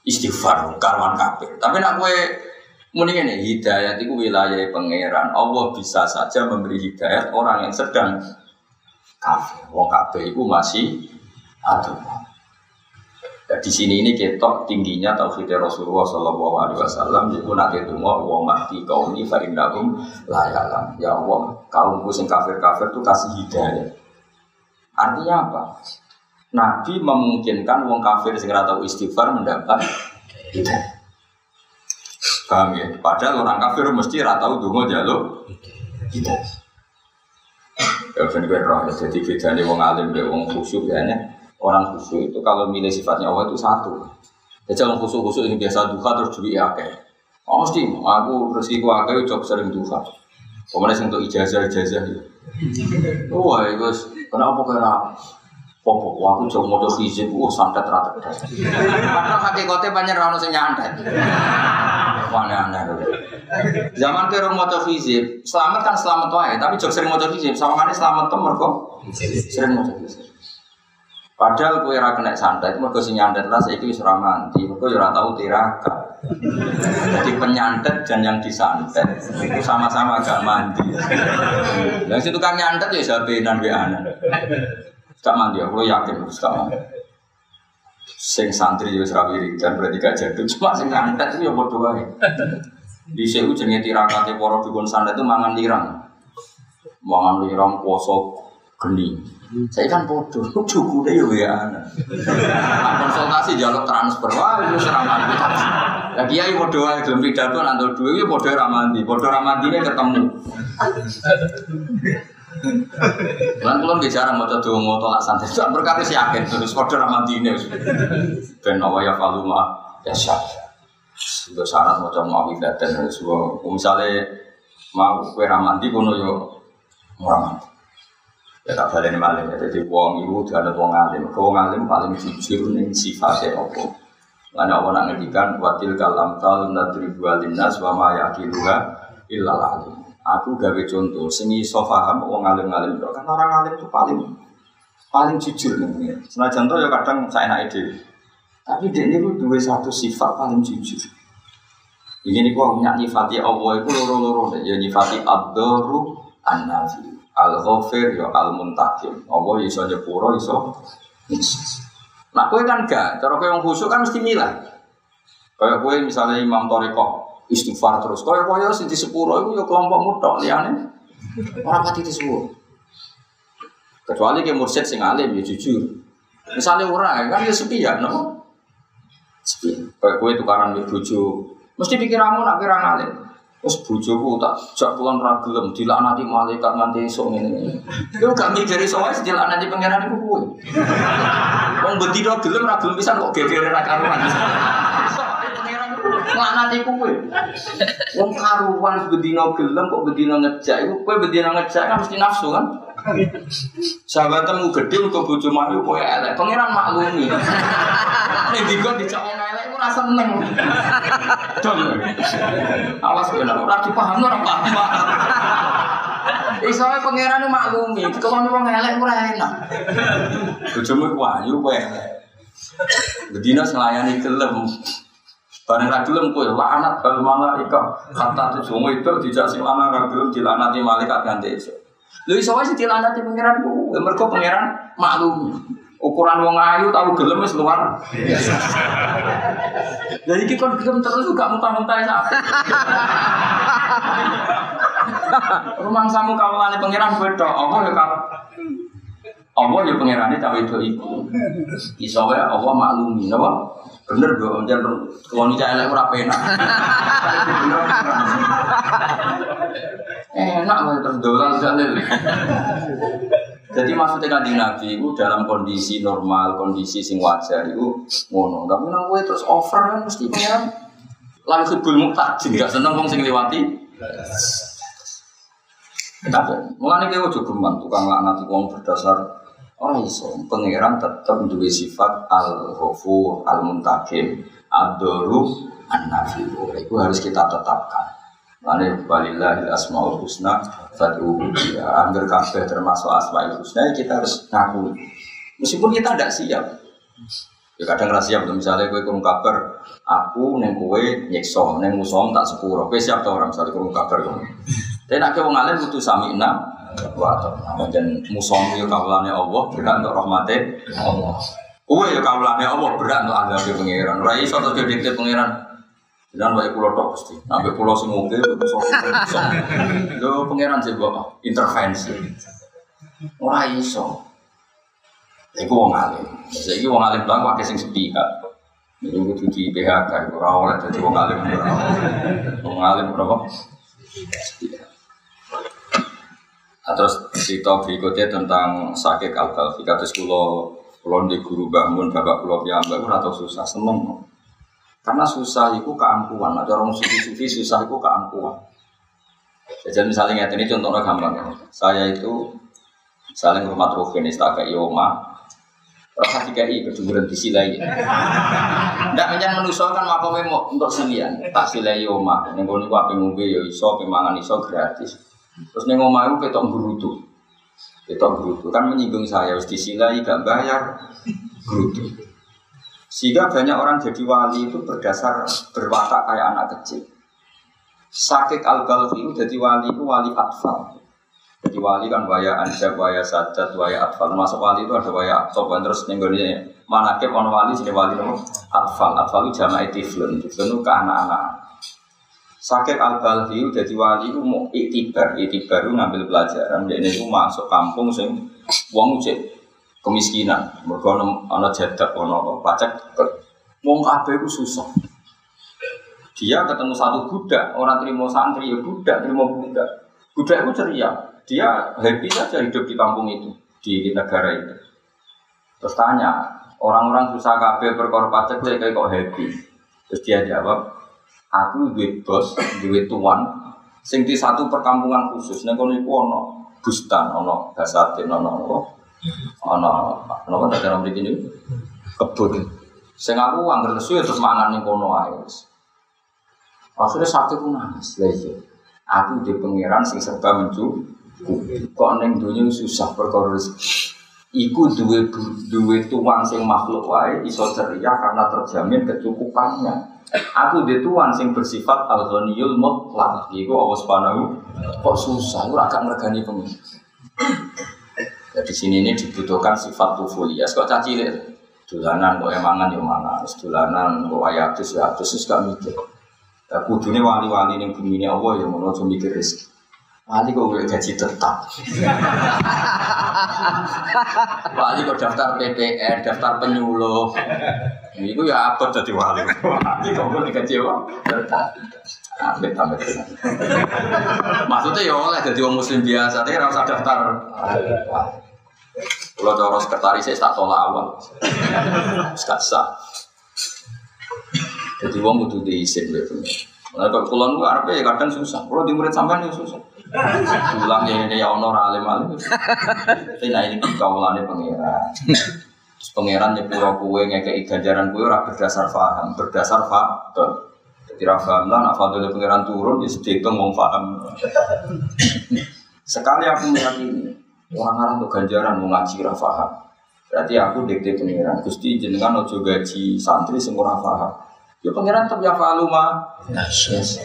istighfar karwan kafir. Tapi nak kowe muni ngene, hidayat itu wilayah pangeran. Allah bisa saja memberi hidayat orang yang sedang kafir. Wong kafir itu masih ada. Di sini ini ketok tingginya tauhid Rasulullah Sallallahu Alaihi Wasallam. Jadi nanti itu mau wa mati kaum ini farindakum layalam. Ya Allah, kaumku sing kafir-kafir itu kasih hidayah. Artinya apa? Nabi memungkinkan wong kafir sing ora tau istighfar mendapat hidayah. Paham ya? Padahal orang kafir mesti ora tau donga njaluk hidayah. Ya ben roh jadi bedane wong alim mbek wong khusyuk ya. Orang khusyuk itu kalau milih sifatnya Allah itu satu. Jadi orang khusyuk ini biasa duha terus duit akeh. Oh mesti, aku rezekiku akeh jauh sering duha. Kemudian untuk ijazah itu. Wah itu kenapa kira? Popo, aku jauh mau hizib, santet rata. Padahal hakikatnya banyak orang yang nyantet. Aneh-aneh. Zaman ke rumah mau hizib, selamat kan selamat wae, tapi jauh sering mau hizib. Sama kan selamat tuh mereka sering mau hizib. Padahal kowe ora kena santet, mergo sing nyantet lah saiki wis ora mandi, mergo ya ora tau tirakat. Jadi penyantet dan yang disantet itu sama-sama agak mandi. Lah sing tukang nyantet ya sabenan wae ana. Gak mandi, aku yakin wis gak mandi. Sing santri ya wis ra wiridan berarti gak jadul, cuma sing nyantet itu ya padha wae. Dhisik ku jenenge tirakate para dukun santet itu mangan lirang. Mangan lirang poso geni. Saya kan bodoh, cukup deh ya. Konsultasi jalur transfer, wah itu serangan. Lagi ya bodoh aja belum pidato nanti dua itu bodoh ramandi ini ketemu. Kan belum bicara mau coba mau tolak santai, berkali si yakin terus bodoh ramandi ini. Ben awalnya faluma ya sah. Sudah syarat macam mau dan semua. Misalnya mau kue ramandi kono yo ramandi. Ya tak balik malam ya, jadi wong ibu ada wong alim, wong alim paling jujur nih sifatnya apa? Karena Allah nak ngedikan watil kalam tal nadri bualinas wama yakiluha illal alim. Aku gawe contoh, seni sofaham wong alim itu kan orang alim itu paling jujur nih. Senajan contoh ya kadang saya nak ide, tapi dia ini dua satu sifat paling jujur. Ini kok nyifati Allah itu loro ya nyifati ad-daru an-nafi. Al-Ghafir ya Al-Muntakim. Allah iso nyepuro iso. Nah, kowe kan gak, cara kowe wong khusyuk kan mesti milah. Kayak kowe misalnya Imam Thariqah istighfar terus. Kowe sing di sepuro iku ya kelompokmu tok liyane. Ora pati disepuro. Kecuali ke mursyid sing alim ya jujur. Misalnya ora kan ya sepi ya, no? Sepi. Kayak kowe tukaran mbek bojo, mesti pikiranmu nak kira alim. Terus bojoku tak jak pulang ra gelem dilaknati malaikat nganti esuk ngene. Yo gak mikir iso wae dilaknati pangeran iku kowe. Wong bedino gelem ra gelem pisan kok gegere ra karuan. Iso ae pangeran laknati kowe. Wong karuan bedino gelem kok bedino ngejak iku kowe bedino ngejak kan mesti nafsu kan. Sahabatmu gedhe kok bojo mayu kowe elek. Pangeran maklumi. Nek dikon dijak wong elek iku ra seneng. Dong. Awas kena ora dipaham ora paham. Iso wae pangeran maklumi, dikon wong elek ora enak. Bojomu ku ayu kowe elek. Bedina selayani gelem. Bareng ra gelem kowe laknat bal malaikat. Kata tuh wong itu dijak sing lanang ra gelem dilanati malaikat ganti esuk. Lha iso wae dilanati pangeran ku, mergo pangeran maklumi. Ukuran wong ayu tahu gelem wis luar biasa. Jadi iki kon gelem terus gak muntah-muntah sak. Rumangsamu kawulane pangeran beda, apa ya karo Allah ya pangerane cawe itu iku. Iso wae Allah maklumi, napa? Bener do njen wong iki elek ora penak. Enak wae terus dolan jalil. Jadi maksudnya kanjeng Nabi itu dalam kondisi normal, kondisi sing wajar itu ngono. Tapi nang kowe terus over kan mesti pengen langsung bul muktajin, gak seneng wong sing liwati. Tapi mulane kowe ojo geman tukang laknat wong berdasar ora iso. Pangeran tetep duwe sifat Al-Ghafur, Al-Muntakim, Ad-Daru, An-Nafi. Itu harus kita tetapkan. Ane walillahil asmaul husna fad'uhu biha. Angger kabeh termasuk asmaul husna kita harus ngaku. Meskipun kita tidak siap. Ya kadang rahasia betul misalnya kowe kurung kabar, aku neng kowe nyekso, neng musom tak sepuro. Kowe siap ta orang misalnya kurung kabar kowe. Tapi nek wong alim kudu sami'na wa ata'na. Dan musom yo kawulane Allah, berat untuk rahmate Allah. Kowe yo kawulane Allah, berat untuk azabe pangeran. Ora iso terus dikte pangeran. Jangan wae pulau tok mesti. Sampai pulau sing oke musom. Lho pangeran sing kok intervensi. Ora iso. Iku wong alim. Saiki wong alim blang wae sing sepihak. Iku kudu di PHK ora oleh dadi wong alim. Wong alim berapa? Sepihak. Nah, terus cerita berikutnya tentang sakit al-balfi. Kados kula di guru bangun bapak kula piyambak ora tau susah seneng. Karena susah itu keangkuhan. Ada orang sufi-sufi susah itu keangkuhan. Jadi misalnya ini contohnya gampang ya. Saya itu misalnya rumah Rogen istaka Ioma. Rasa dikai keduduran disilai. Ndak menyang manusia kan makomnya untuk silian. Tak silai Ioma. Yang kau ni apa ngombe yo iso, pemangan iso gratis. Terus neng omah itu ketok berutu. Ketok berutu kan menyinggung saya. Harus disilai gak bayar berutu. Sehingga banyak orang jadi wali itu berdasar berwatak kayak anak kecil. Sakit al-balfi itu jadi wali itu wali atfal. Jadi wali kan waya anjab, waya sajad, waya atfal. Masuk wali itu ada waya atfal. Terus nenggolnya manakib ono wali jadi wali itu atfal. Atfal itu jama'i tiflun. Tiflun itu ke anak-anak. Sakit al-balfi itu jadi wali itu mau iktibar. Iktibar itu ngambil pelajaran. Jadi itu masuk kampung sing wong ucap kemiskinan, mergo ana jadak ana pacak. Wong kabeh iku susah. Dia ketemu satu budak, orang terima santri ya budak, terima budak. Budak itu ceria. Dia happy saja hidup di kampung itu, di negara itu. Terus tanya, orang-orang susah kabeh perkara pacak kayak kok happy. Terus dia jawab, aku duwe bos, duwe tuan sing di satu perkampungan khusus. Nek kono iku ana bustan, ana basatin, ana apa tak dalam begini kebun. Sing aku angger lesu terus mangan ning kono ae. Akhire satu ku nangis. Lha iya. Aku di pangeran sing serba mencukupi. Kok ning donya susah perkara rezeki. Iku duwe tuan sing makhluk wae iso ceria karena terjamin kecukupannya. Aku di tuan sing bersifat al-ghaniyul mutlaq. Iku Allah Subhanahu kok susah ora gak ngregani pengen. Di sini ini dibutuhkan sifat tufulias. Kok caci cilik, dolanan kok emangan ya mana, dolanan kok ayatus ya atus gak mikir. Kudune wali-wali ning bumi ini Allah ya ngono aja mikir rezeki. Wali kok golek gaji tetap. Wali kok daftar PPN, daftar penyuluh. Iku ya abot dadi wali. Wali kok golek gaji tetap. Amit-amit. Maksudnya ya oleh jadi orang muslim biasa, tapi ora usah daftar. Kalau cara sekretaris saya tak tolak awal. Gak sah. Jadi orang kudu diizin gitu. Nah, kalau kulon itu Arab ya kadang susah. Kalau di murid sampean ya susah. Pulang ya ini ya honor alim-alim. Tapi nah ini kaulane pangeran. Terus pangeran nyepuro kowe ngekeki ganjaran kowe ora berdasar paham, berdasar fakta. Tidak paham lah, nak fadil pangeran turun, ya sedikit ngomong paham. Sekali aku meyakini orang-orang untuk ganjaran mau ngaji ora paham. Berarti aku dikte pangeran. Gusti jenengan ojo gaji santri sing ora paham. Ya pangeran tetap ya faluma. Yes.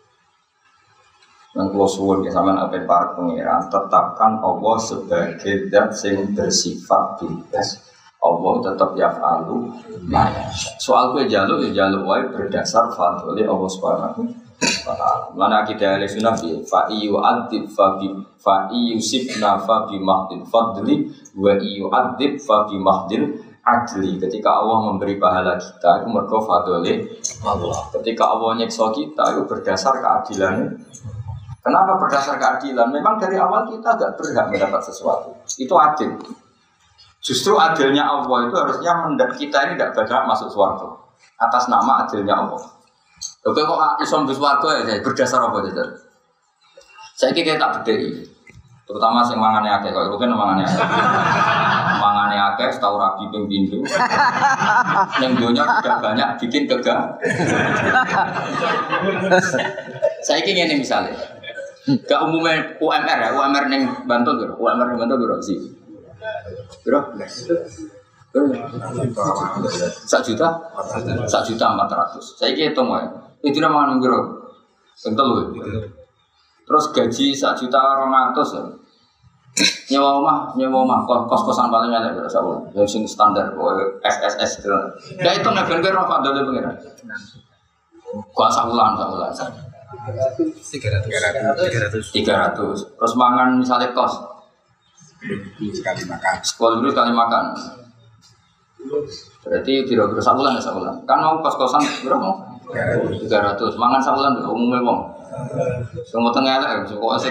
Dan kalau suwun ya sampean ape para pangeran tetapkan Allah sebagai zat sing bersifat bebas. Allah tetap yaf'alu ma yasha. Soal kowe jaluk ya jaluk wae berdasar fadhole Allah Subhanahu wa taala. Lan akidah Ahlussunnah bi fa yu'adzib fa yusibna fa bi mahdil fadli wa yu'adzib fa bi mahdil adli. Ketika Allah memberi pahala kita itu mergo fadhole Allah. Ketika Allah nyiksa kita itu berdasar keadilannya. Kenapa berdasar keadilan? Memang dari awal kita agak berhak mendapat sesuatu. Itu adil. Justru adilnya Allah itu harusnya kita ini tidak berhak masuk surga atas nama adilnya Allah. Oke kok isom bus surga ya berdasar apa itu? Saya kira tak bedai. Terutama sing mangane akeh kok rugen mangane akeh. Mangane akeh tahu rabi ping pindho. Ning donya tidak banyak bikin kegah. Saya kira ini misalnya. Gak umumnya UMR ya, UMR ning Bantul lho, UMR ning Bantul lho sih. Bro, 1.400.000. Saya hitung ya. Itu nama nunggu. Tentu. Terus gaji 1.200.000 ya. Nyewa rumah kos-kosan paling elek berasa ya sing standar SSS gitu. Ya itu ben kira Pak Dole pengira. Gua sakulan. 300. Terus mangan misalnya kos sekali makan. Sekali makan. Berarti kira-kira sakulan. Kan mau kos-kosan berapa mau? 300. Mangan sakulan umumnya wong. Semua tengah lah, kok asik.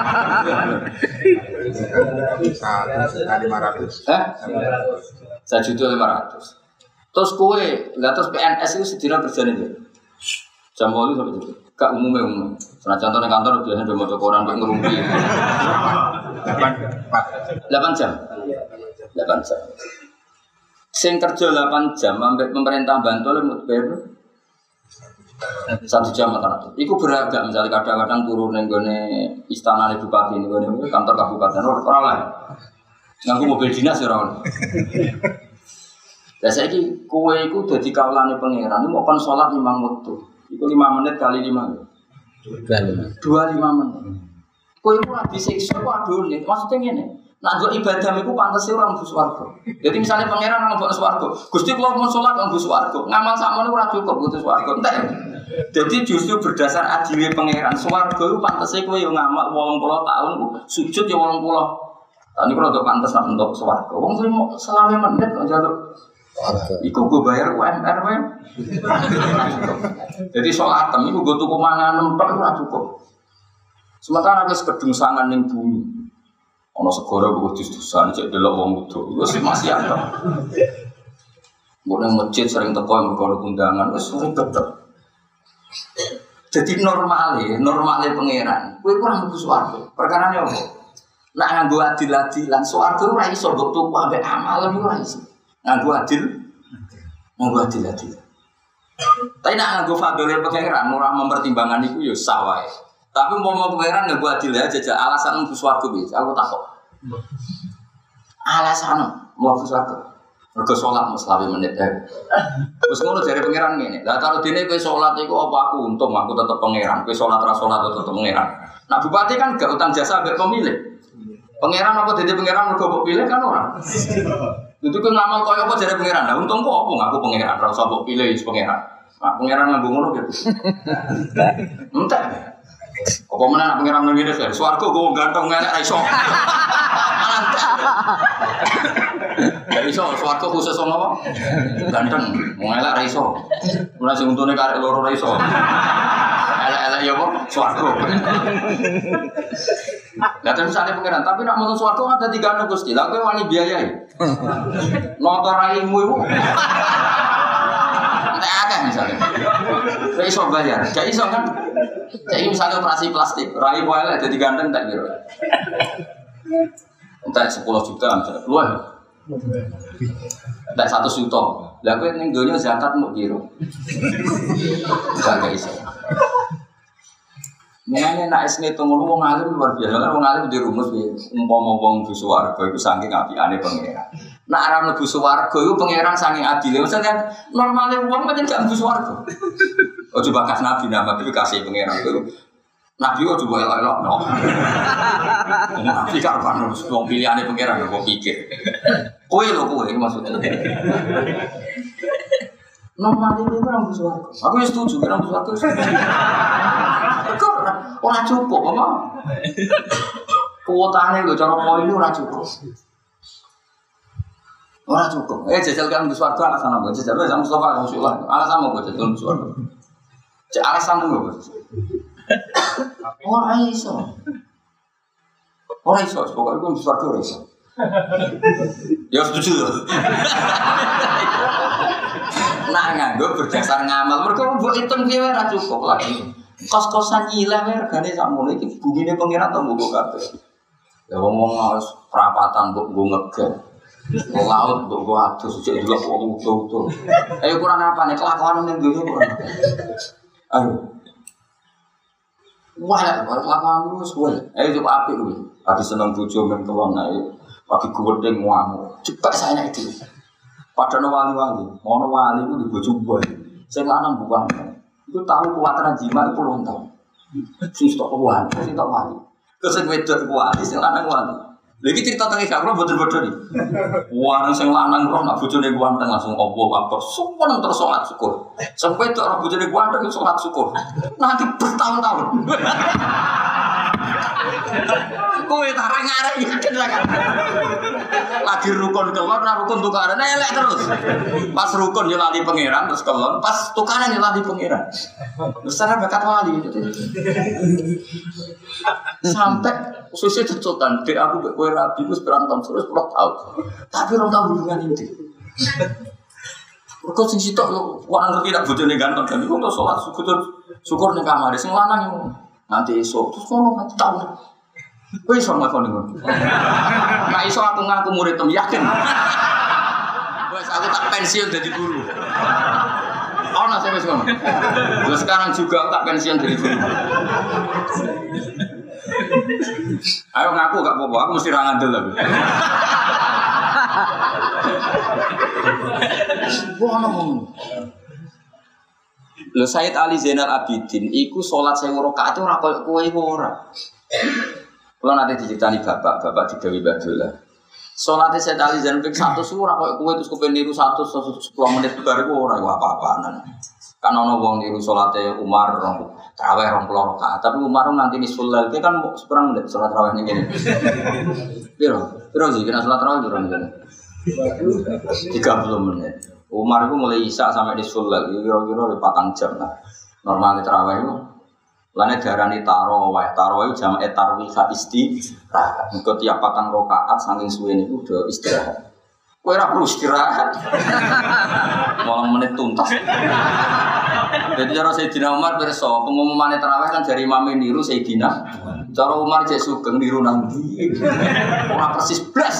1.500.000. 1.500.000. Terus kue, terus PNS itu sedina kerjanya dia. Jam 8 sampai itu. Gak umumnya. Karena contohnya kantor biasanya udah mau koran buat ngerumpi. 8 jam. Sing kerja 8 jam, sampai pemerintah bantu oleh bayar 1 jam atau itu beragam. Misalnya kadang-kadang turun nenggone istana bupati nenggone kantor kabupaten orang lain nganggu mobil dinas orang. Biasa ini kue itu jadi kaulane pangeran. Ini mau kon sholat 5 waktu. Itu 5 menit kali 5. 25 menit. Kue itu lagi disiksa waduh nih. Maksudnya ini. Nah, ibadah itu pantas orang bus warga. Jadi misalnya pangeran orang bus warga, Gusti kalau mau sholat orang bus warga, ngamal sama ini orang cukup butuh warga. Jadi justru berdasar adilnya pangeran, warga itu pantasnya kau yang ngamal 80 tahun, sujud ya 80. Tadi kalau untuk pantas untuk warga, orang tuh mau selama menit kok jatuh. Iku gue bayar UMR we. Jadi sholat itu gue tuku mangan nempak itu orang cukup. Sementara ada kedung sangan yang bumi. Ono segoro gue dus-dusan cek delok wong wudu. Wis masih ada. Gue nang masjid sering teko mergo undangan wis sering tetep. Jadi normalnya pangeran. Kowe kurang mlebu swarga. Perkarane opo? Nak nganggo adil-adilan swarga ora iso mbok tuku ambek amal ora iso. Nganggo adil-adilan. Tapi nak nganggo fadhole pangeran ora mempertimbangkan iku ya sah wae. Tapi mau pangeran nggak buat adil aja, alasan untuk suatu bisa, aku takut. Alasan mau suatu, mereka sholat mau selama menit deh. Terus ngono dari pangeran ini, lah kalau dini kue sholat itu apa aku untung, aku tetap pangeran, kue sholat tetap pangeran. Nah bupati kan gak utang jasa gak pemilih. Pangeran apa jadi pangeran mereka pilih kan orang. Itu kue ngamal kau apa jadi pangeran, nah untung kok aku pangeran, rasa kok pilih pangeran. Nah pangeran nggak ngono gitu. Entah. Apa mana nak pengiran ngene wis swarga gue ganteng ngelek ra iso. Ya iso swarga khusus ono apa? Ganteng, mau ngelek ra iso. Ora sing untune karek loro ra iso. Elek-elek ya apa? Swarga. Lah terus misalnya pengiran, tapi nak menuju swarga kan dadi ganteng Gusti. Lah kowe wani biayai. Noto raimu iku. Entek akeh misalnya. Gak iso bayar, gak iso kan? Jadi misalnya operasi plastik, rai boleh jadi ganteng tak kira. Entah 10 juta misalnya, luar. Entah 1 juta. Lah kowe ning donya zakat mau kira. Gak iso. Mulane nek esne to ngono wong alim luar biasa, kan wong alim di rumus piye. Umpama wong mlebu swarga iku saking apikane pangeran. Nek ora mlebu swarga iku pangeran saking adile. Maksudnya normale wong pancen gak mlebu swarga. Ojo bakas nabi nama tapi kasih pangeran itu. Nabi ojo boleh elok no. Nabi karpan wong pilihane pangeran kok pikir. Kowe lho kowe maksudnya. Normal itu orang bersuara. Aku ya setuju orang bersuara. Kok orang cukup apa? Kuotanya lo cara poin itu orang cukup. Orang cukup. Jajal kan bersuara alasan apa? Jajal sama Mustafa Rasulullah. Alasan apa jajal bersuara? Alasan apa? Orang iso. Orang iso. Pokoknya aku bersuara orang iso. Ya setuju. Nah nganggo berdasar ngamal mereka mbok hitung piye ora cukup lagi. Kos-kosan nyilah regane sakmono iki bumine pangeran to mbok kabeh. Ya wong harus perapatan mbok nggo ngegen. Laut mbok nggo adus sik delok wong utuh-utuh. Ayo kurang apa nih kelakuan ning dunya kurang. Ayo. Wah, kelakuan lu wis wae. Ayo coba apik kuwi. Lagi seneng bojo men kelon ae. Pagi gudeng ngamuk. Cepat saya itu. Padahal wali-wali, ono wali itu di bojo boy. Sing lanang bukan. Itu tahu kuwataran jima itu puluhan tahun. Sing stok wali, sing tok wali. Kesing wedok wali, sing lanang wali. Lagi cerita tentang Isya, kalau betul-betul nih. Wah, sing lanang roh nak bojone kuwanteng langsung Allah Akbar. Sumpah terus salat syukur. Sampai tok roh bojone kuwanteng salat syukur. Nanti bertahun-tahun. Kowe tarang arek yakin lah kan. Lagi rukun kelon, nah rukun tukaran elek terus. Pas rukun yo lali pangeran terus kelon, pas tukaran yo lali pangeran. Besar bakat wali. Sampai susu cecotan, dek aku mbek kowe rabi wis berantem terus 10 tahun. Tapi ora tau hubungan inti. Kok sing sitok yo ora ngerti nak bojone ganteng kan iku terus salat syukur ning kamar sing lanang yo. Nanti esok terus ngono nanti tahun. Kowe iso ngakoni ngono. Nek iso aku ngaku murid tem yakin. Wes aku tak pensiun jadi guru. Ana sing wis ngono. Terus sekarang juga tak pensiun jadi guru. Ayo ngaku gak apa-apa, aku mesti ra ngandel lho. Ono ngono. Lho Sayyid Ali Zainal Abidin iku salat 1000 rakaat ora koyo kowe iku ora. Kula nate diceritani bapak digawe Badullah. Salate Sayyid Ali Zainal ping 100 ora koyo kowe terus kepen niru 110 menit bar iku ora iku apa-apaan. Kan ana wong niru salate Umar tarawih 20 rakaat, tapi Umar nanti nisful lail kan seperang menit salat tarawih ning kene. Piro sih kena salat tarawih piro ning kene? 30 menit. Umar itu mulai isya sampai di sulal, kira-kira 4 jam lah. Normalnya terawih itu, lainnya darani tarawih itu jam tarwih istirahat. Engkau tiap 4 rakaat saking suwe itu udah istirahat. Kau perlu istirahat, malam menit tuntas. Jadi cara Sayyidina Umar berso pengumuman terawih kan dari Imam niru Sayyidina. Cara Umar cek sugeng niru nanti, orang persis blas.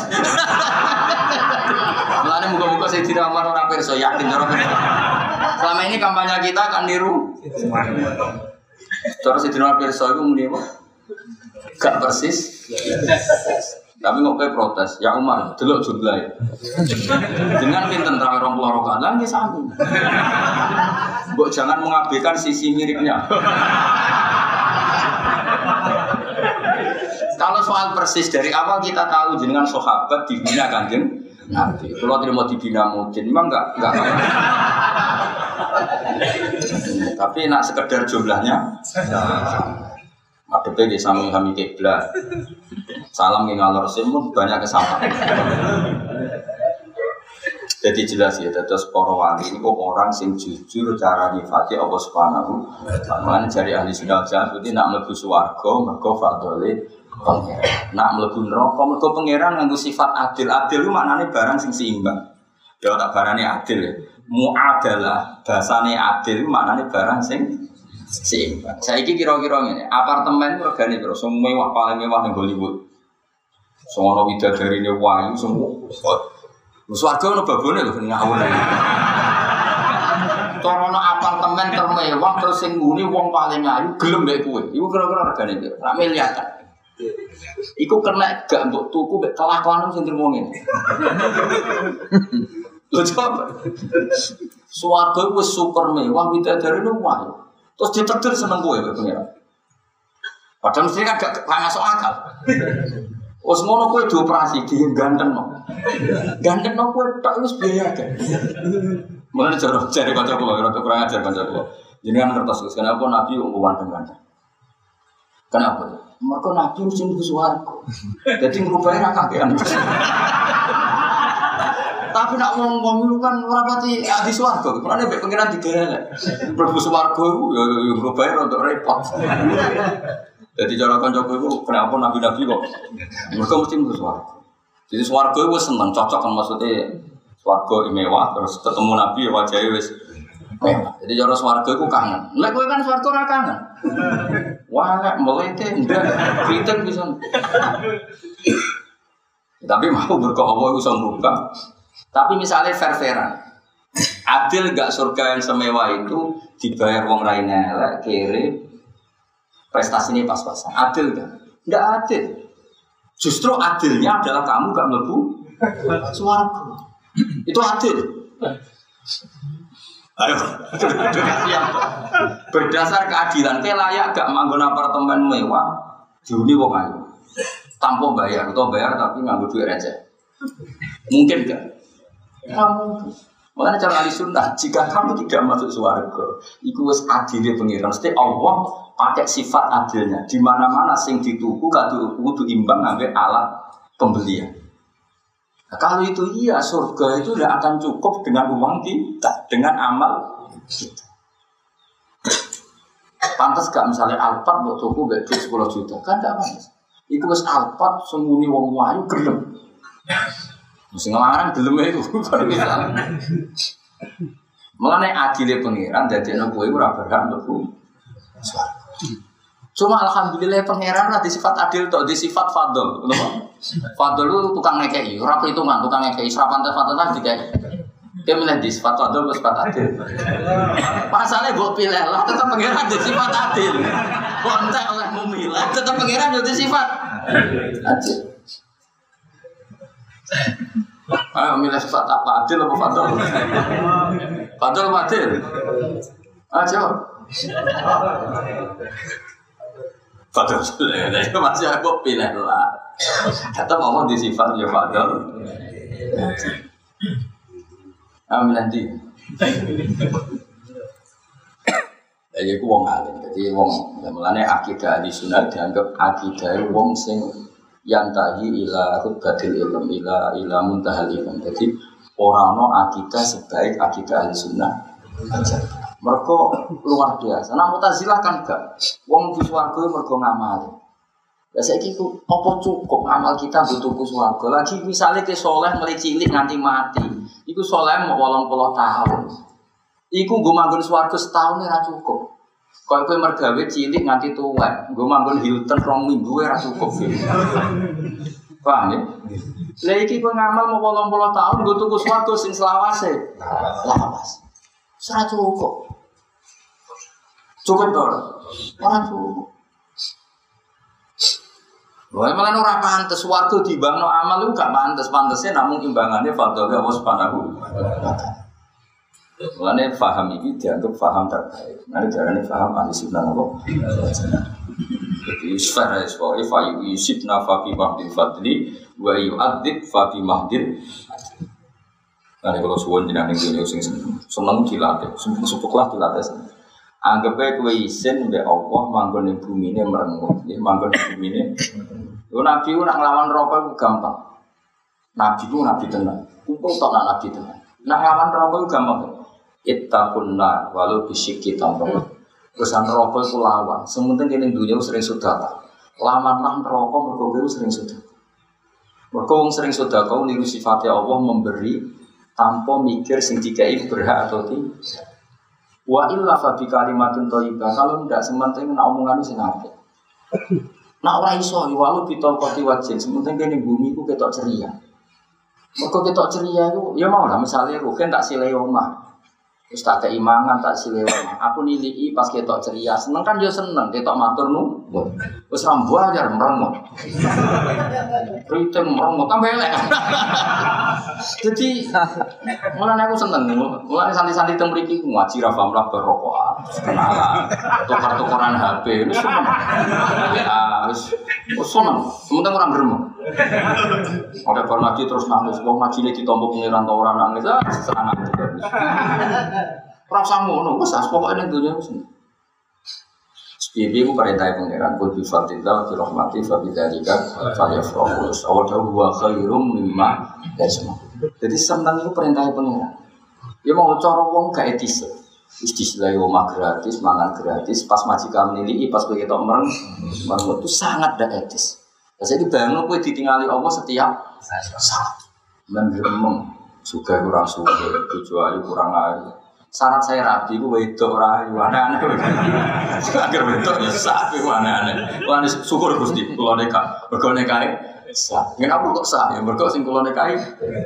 Mulane muga-muga Sayyidina Umar ora pirsa yakin cara pirsa. Selama ini kampanye kita akan niru. Cara Sayyidina Umar pirsa iku muni apa? Gak persis. Tapi kok kowe protes, ya Umar, delok jumlahe. Dengan pinten tarawih 20 rakaat lan nggih sami. Mbok jangan mengabaikan sisi miripnya. Kalau soal persis dari awal kita tahu jenengan sahabat dibina Kanjeng Nabi. Kalau tidak mau dibina mungkin memang enggak. Tapi nak sekedar jumlahnya. Madhepe di sami kami kiblat. Salam nggih ngalor simun banyak kesamaan. Jadi jelas ya, terus para wali ini kok orang sing jujur cara nyifati Allah Subhanahu wa taala. Jari ahli sunnah jamaah itu nak mlebu swarga mergo fadhole pangeran. Nak mlebu neraka mergo pangeran nganggo sifat adil. Adil itu maknane barang sing seimbang. Ya tak barane adil ya. Muadalah bahasane adil itu maknane barang sing seimbang. Saiki kira-kira ngene, apartemen regane piro? Sing mewah paling mewah ning Hollywood. Sono widadarine wayu semua. Swarga ono babone lho ngawur. Corono apartemen termewah terus sing nguni wong paling ayu gelem mbek kowe. Iku kira-kira regane piro? Sak miliar kan. Iku kena gak mbok tuku mbek kelakuan sing trimo ngene. Lho coba. Swarga wis super mewah widadarine wayu. Terus ditetir seneng kowe mbek pengen. Padahal mesti kan gak masuk akal. Wes ngono kowe dioperasi di ganteng no. Ganteng no kowe tok wis biaya kan. Mulane cari kanca kula ora kurang ajar kanca kula. Jenengan ngertos Gus, kenapa Nabi wong ganteng-ganteng? Kenapa? Mergo Nabi mesti mlebu swarga. Dadi ngrupae ra kakean. Tapi nak ngomong itu kan ora pati di swarga. Mulane mek pengiran digerelek. Mlebu swarga iku ya ngrupae rada repot. Jadi cara kancaku itu kenapa nabi-nabi kok mereka mesti mlebu swarga. Jadi swarga itu seneng cocok kan maksudnya swarga mewah terus ketemu nabi wajahnya wis mewah. Jadi cara swarga itu kangen. Lek kowe kan swarga ora kangen. Wah lek melete ndak kritik bisa. Tapi mau berkah Allah iso ngubah. Tapi misalnya fair-fairan. Adil gak surga yang semewah itu dibayar wong raine elek kere prestasinya pas-pasan, adil kan? Tidak adil. Justru adilnya adalah kamu gak mlebu swarga. Itu adil. Ayo, berdasar keadilan, kayak layak gak manggon apartemen mewah, diuni wong ayu, tanpa bayar atau bayar tapi nganggo duit receh, mungkin gak? Mungkin. Makanya cara ahli sunnah, jika kamu tidak masuk surga, itu wis adilnya pengiran. Mesti Allah pakai sifat adilnya. Di mana-mana sing dituku kudu imbang ngambil alat pembelian. Nah, kalau itu iya, surga itu tidak akan cukup dengan uang kita, dengan amal kita. Pantas gak misalnya Alphard buat tuku gak 10 juta, kan gak pantas. Itu wis Alphard sembunyi wong wayu gelem. Mesti ngelarang gelem itu baru bisa. Mengenai adilnya pengiran, jadi anak gue ora berhak mlebu swarga. Cuma alhamdulillah pangeran ada sifat adil atau di sifat fadl, fadl itu tukang ngekei, ora perhitungan, tukang ngekei, serapan tefatan dikai. Dia milih di sifat fadl atau sifat adil. Pasalnya gue pilih lah, tetap pangeran di sifat adil. Kontak oleh memilah, tetap pangeran di sifat adil. Ayo milih sifat apa adil atau fadl? Fadl atau adil? Ayo. Fadl, itu masih aku pilih lah. Kata mama di sifat ya Fadl. Amin nanti. Jadi aku wong alim, jadi wong mulane akidah di sunnah dianggap akidah wong sing yantahi ila rubbatil ilm ila muntahal ilm. Jadi orang no akidah sebaik akidah di sunnah aja. Mereka luar biasa. Nah Mu'tazilah kan gak. Wong di swarga mereka ngamali. Ya saiki ku apa cukup amal kita butuh ku swarga. Lagi misalnya ke soleh mulai cilik nganti mati. Iku soleh mau 80 tahun. Iku nggo manggon swarga setahun ora cukup. Kaya kowe mergawe cilik nganti tuwek, nggo manggon Hilton 2 minggu ora cukup. Paham ya? Lah iki kowe ngamal mau 80 tahun nggo tuku swarga sing selawase. Lawas. Ora cukup. Cukup dong, orang cukup. Wah, malah orang pantas waktu di bang no amal itu gak pantasnya namun imbangannya fadl Allah Subhanahu wa taala. Mulane faham ini dianggap faham terbaik. Nanti jarane faham ahli sunnah Allah. Jadi sfera sebagai fayu yusibna fa fi mahdil fadli wa yu'adzib fa fi mahdil. Nanti kalau suwon jenengan dunia sing seneng dilatih, supuklah dilatih. Anggapnya kowe isin mbek Allah manggon ning bumine merengut, nggih manggon ning bumine. Yo nabi ku nak nglawan neraka ku gampang. Nabi ku nabi tenan. Kumpul tok nak nabi tenan. Nak nglawan neraka ku gampang. Ittaqunna walau bisyikki tamro. Pesan neraka ku lawan. Sementing kene dunya sering sedekah. Lawanlah neraka mergo kowe sering sedekah. Mergo wong sering sedekah niru sifate Allah memberi tanpa mikir sing dikai berhak atau tidak. Wa illa fa bi kalimatin thayyibah kalau ndak sementing nek omongan sing apik. Nek ora iso walu bitolqati wajin sementing kene bumi ku ketok ceria. Mergo ketok ceria iku ya mau lah misale rugen tak sile omah. Wis tak keimangan tak sile omah. Aku niliki pas ketok ceria, seneng kan yo seneng ketok matur nuwun. Wis rambu ajar merengut. Riting merengut tambah elek. Jadi mulane aku seneng, mulane santai-santai teng mriki ngaji ra paham lah berrokokan, kenalan, tukar-tukaran HP, wis seneng. Ya wis seneng, sementing ora gremeng. Ada bar ngaji terus nangis, wong ngajine ditampa pengiran ta ora nangis, seneng. Ora usah ngono, wis pokoke ning donya wis. Piye-piye ku perintah pengiran kudu fadillah fi rahmati fa bidzalika falyafrahu. Awadhu wa khairum mimma yasma. Jadi seneng itu perintah pengiran. Ya mau cara wong gak etis. Istilah omah gratis, mangan gratis, pas majikan nilai, pas kowe ketok mereng itu sangat gak etis. Jadi bayangno kowe ditinggali Allah setiap saat. Mengremeng, suka kurang suka, bojo ayu kurang ayu. Syarat saya rapi, gue wedok orang aneh-aneh. Agar wedok ya sah, gue aneh-aneh. Wah, syukur Gusti, kalau neka, berkonekai sah. Kenapa kok sah? Yang berkok sing kalau nekai.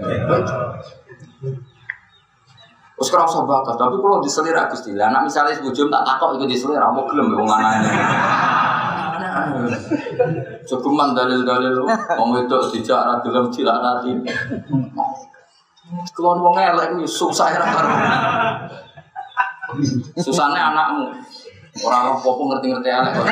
Terus kalau usah bakat, tapi kalau diselera Gusti, lah anak misalnya sebujum tak takok ikut diselera, mau gelem wong aneh-aneh. Aneh-aneh. Cukuman dalil-dalil, wong wedok dijak ra gelem dilaknati. Kelon wong elek kuwi susah ra karo. Susahne anakmu. Ora apa-apa ngerti-ngerti elek kok.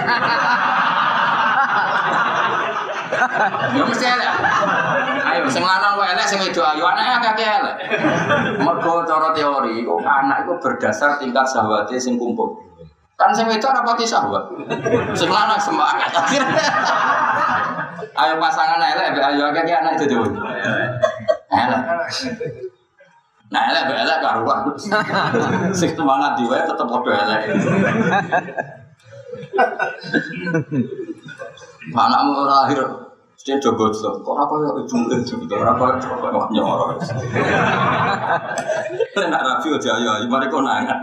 Ya mesti elek. Ayo sing lanang wae elek sing wedok ayu anake akeh elek. Mergo cara teori kok anak itu berdasar tingkat syahwate sing kumpul. Kan sing wedok ora pati syahwat. Sing lanang semangat. Ayo pasangan elek ayo akeh anak itu dhewe. Elek. Nah elek karuan. Sing semangat diwe tetep padha elek. Anakmu ora lahir mesti jogo kok ora koyo ibu ora koyo nyoro. Nek rapi aja ayo mari konangan.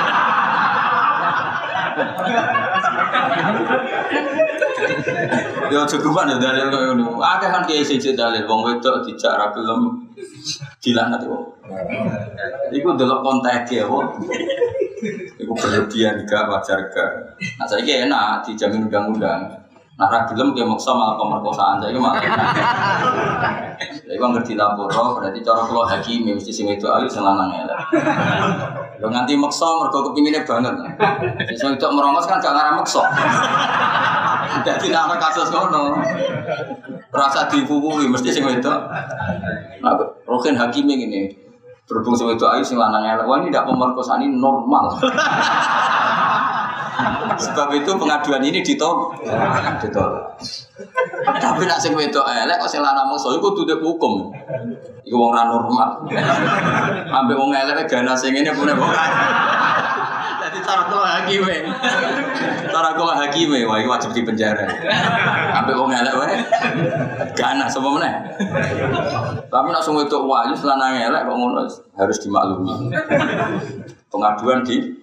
Yo cukupan ya dalil koyo ngono. Akeh kan kiai siji dalil wong wedok dijak ra gelem dilaknat wong. Iku delok konteke wong. Iku berlebihan gak wajar gak. Nah saiki enak dijamin undang-undang. Nah ra gelem ki maksa malah pemerkosaan saiki malah. Iku ngerti laporo berarti cara kula hakim mesti sing wedok ayu sing lanang elek. Yo nganti maksa mergo kepingine banget. Sing wedok merongos kan gak ngarep maksa. Dadi nek kasus ngono. Rasa dipupuhi mesti sing wedok. Nah, Rokin Hakime ngene. Berhubung sing wedok ayu sing lanang elek. Wah ini ndak pemerkosaan ini normal. Sebab itu pengaduan ini ditolak. Tapi nek sing wedok elek kok sing lanang mongso iku kudu hukum. Iku wong ra normal. Ambek wong elek ganas sing ngene punya wong. Dadi cara kula hakime wah iki wajib dipenjara. Ambek wong elek wae ganas apa meneh. Tapi nek sing wedok wayu lanang elek kok ngono harus dimaklumi. Pengaduan di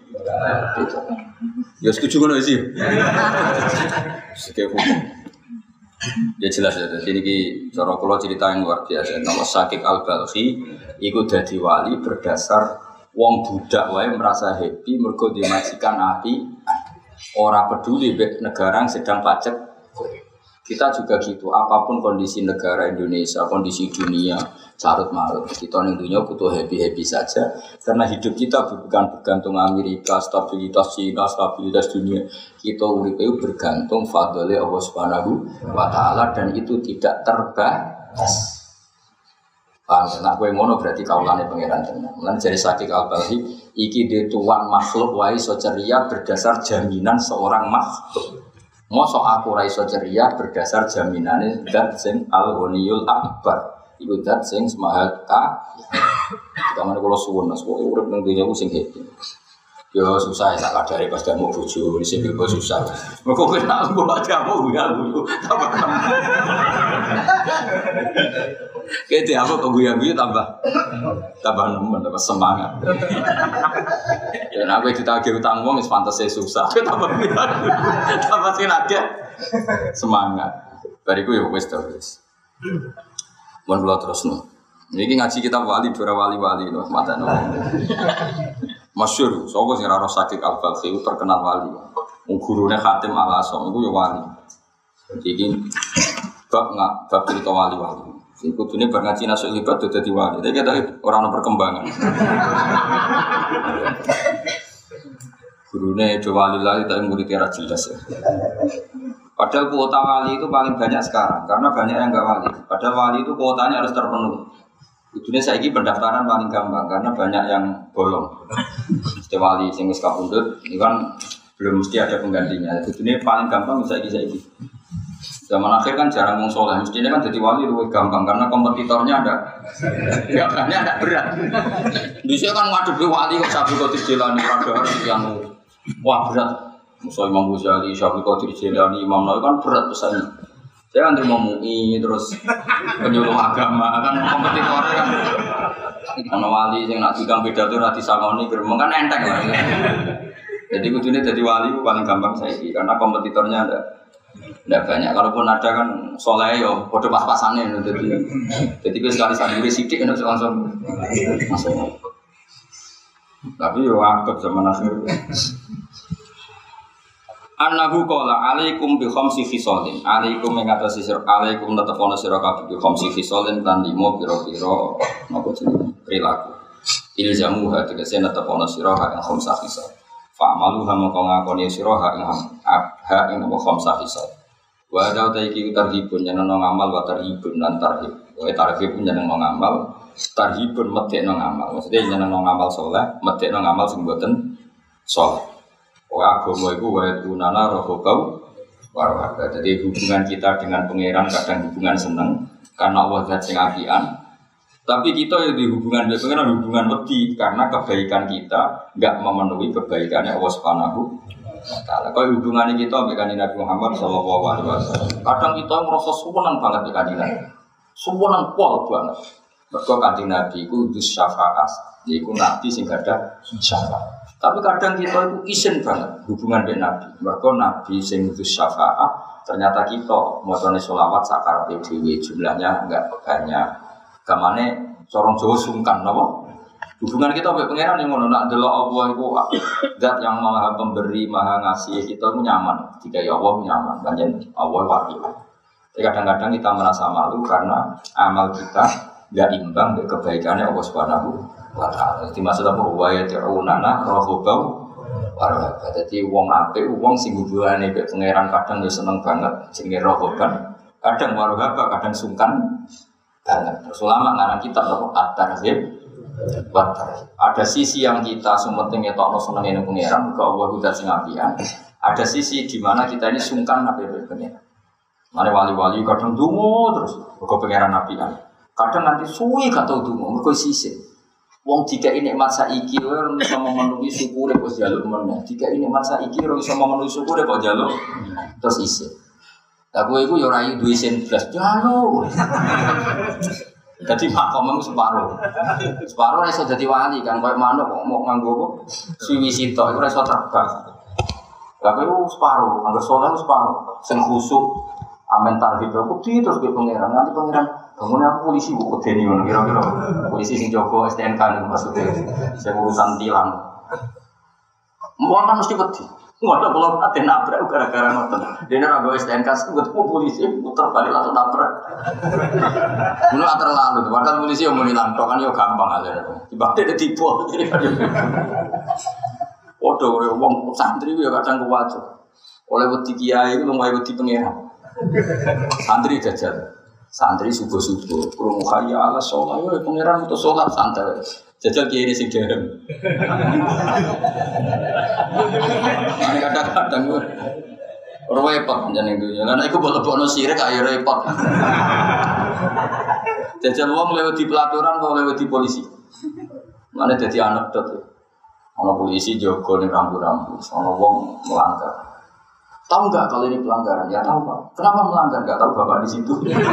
ya setuju ngono sih. Sekep hukum. Ya jelas ya. Jadi ini cara kula cerita yang luar biasa. Nama Syakik Al-Balkhi iku dadi wali berdasar wong budak wae merasa happy mergo dimajikan api. Ora peduli negara yang sedang pacek. Kita juga gitu. Apapun kondisi negara Indonesia, kondisi dunia carut marut. Kita ning dunia butuh happy saja karena hidup kita bukan bergantung Amerika, stabilitas Cina, stabilitas dunia. Kita urip bergantung fadhole Allah Subhanahu wa taala dan itu tidak terbatas. Paham, nek kowe ngono berarti kaulane pangeran tenan. Lan jare Syakik Al-Balkhi iki de tuan makhluk wae iso ceria berdasar jaminan seorang makhluk. Mosok aku ra iso ceria berdasar jaminane zat sing Al-Ghaniyul Akbar. Iku zat sing Maha Kaya. Kamane kula suwun Mas, kok urip nang dunya ku sing happy. Yo susah ya tak kadare pas gak mau bojo, sing bebo susah. Mergo kowe nak mbok jamu ya guyu. Kete apa kok guyu tambah nemen tambah semangat. Ya nek kowe ditagih utang wong wis pantese susah. Tambah sing agak semangat. Bariku ya wis to wis. Mun kula terusno. Niki ngaji kitab wali dora wali-wali lho matane. Masyhur, sapa sing ora Syakik Al-Balkhi terkenal wali. Wong gurune Khatim Al-Asom iku ya wali. Iki bab cerita wali-wali. Sing kudune bar ngaji nasuk libat dadi wali. Tapi kita ora ana perkembangan. Gurune do wali lah tapi muridnya ora jelas ya. Padahal kuota wali itu paling banyak sekarang karena banyak yang enggak wali. Padahal wali itu kuotanya harus terpenuhi. Kudune saiki pendaftaran paling gampang karena banyak yang bolong. Mesti wali sing wis kapundhut iki kan belum mesti ada penggantinya. Kudune paling gampang saiki. Zaman akhir kan jarang wong saleh, mestinya kan jadi wali lebih gampang karena kompetitornya ada berat. Dhisik kan ngadepi wali kok Syabul Qadir Jilani rada yang wah berat. Musa Imam Ghazali, Syabul Qadir Jilani, Imam Nawawi kan berat pesannya. Saya kan terima MUI terus penyuluh agama kan kompetitornya kan. Ana wali sing nak digang pidato ora disangoni gremeng kan enteng lah. Jadi kudune dadi wali paling gampang saiki karena kompetitornya enggak banyak. Kalaupun ada kan soleh yo padha pas-pasane jadi kowe sekali sandure sithik nek langsung masuk. Tapi yo akeh zaman akhir. Annahu qala alaikum bi khamsi khisalin. Alaikum ing atase sira alaikum tetepana sira kabeh bi khamsi khisalin lan 5 pira-pira napa jenenge perilaku. Ilzamu hati kese tetepana sira ing khamsa khisal. Fa'malu hamaka ngakoni sira ing khamsa khisal. Wa ada ta iki tarhibun nyeneng ngamal wa tarhibun lan tarhib. Wa tarhib nyeneng ngamal, tarhibun medekno ngamal. Maksudnya nyeneng ngamal saleh, medekno ngamal sing mboten saleh. Agama itu wa'idunana rohobau warwaka. Jadi hubungan kita dengan pangeran kadang hubungan seneng karena Allah zat sing apian. Tapi kita ya di hubungan dengan pangeran hubungan wedi karena kebaikan kita enggak memenuhi kebaikannya Allah Subhanahu wa taala. Kalau hubungan kita dengan Nabi Muhammad sallallahu alaihi wasallam, kadang kita merasa seneng banget dengan Nabi. Seneng pol banget. Mergo kanjeng Nabi iku dus syafaat. Yaiku nabi sing gadah syafaat. Tapi kadang kita itu isin banget hubungan dengan Nabi. Mereka Nabi sing dus syafaat. Ternyata kita macane selawat sakar PDW jumlahnya enggak banyak. Kamane corong Jawa sungkan napa? Hubungan kita mbek pangeran yang ngono nak delok Allah iku zat yang Maha Pemberi, Maha Ngasih, kita itu nyaman. Jika ya Allah nyaman, pancen Allah wakil. Tapi kadang-kadang kita merasa malu karena amal kita enggak imbang dengan kebaikannya Allah Subhanahu wa ta'ala. Jadi maksudnya apa? Wa yati'unana rohobau warwaka. Jadi wong apik, wong sing hubungane mbek pangeran kadang yo seneng banget jenenge rohoban, kadang warwaka, kadang sungkan banget. Terus ulama ngarang kitab apa? At-Tarhib wa Tarhib. Ada sisi yang kita sumeting etokno senenge pangeran, muga Allah udah sing apian. Ada sisi di mana kita ini sungkan mbek pangeran. Mane wali-wali kadang dungo terus muga pangeran apian. Kadang nanti suwi gak tau dungo, muga sisih. Wong jika ini nikmat saiki ora iso memenuhi syukure kok jaluk meneh. Jika ini nikmat saiki ora iso memenuhi syukure kok jaluk terus isih. Lah kowe iku ya ora duwe sen blas jaluk. Dadi makommu separo. Separo iso dadi wali kan koyo manuk kok mau nganggo apa? Siwi sitok iku ora iso terbang. Lah kowe separo, angger saleh separo. Sing khusuk amen tarhib putih terus kowe pangeran nanti pangeran bangun aku polisi kok kedeni ngono kira-kira polisi sing jaga STNK niku maksudnya sing urusan tilang. Wong kan mesti wedi. Ngono kalau ate nabrak gara-gara ngoten. Dene ora go STNK ketemu polisi puter balik langsung nabrak. Ngono terlalu. Padahal polisi yo muni lantok kan yo gampang aja. Tiba-tiba ditipu. Waduh wong santri yo kadang kuwajo. Oleh wedi kiai iku lumayan wedi pangeran. Santri jajal. Santri subuh-subuh, krungu hayya ala sholat, yo pangeran untuk sholat santai. Jajal kiai sing derem. Ane kadang-kadang repot jeneng dunya. Lah nek iku bolebokno sirik ayo repot. Jajal wong lewat di pelaturan kok lewat di polisi. Mane dadi anekdot. Ana polisi jaga ning rambu-rambu, ana wong melanggar. Tahu nggak kalau ini pelanggaran? Ya tahu Pak. Kenapa melanggar? Nggak tahu Bapak di situ.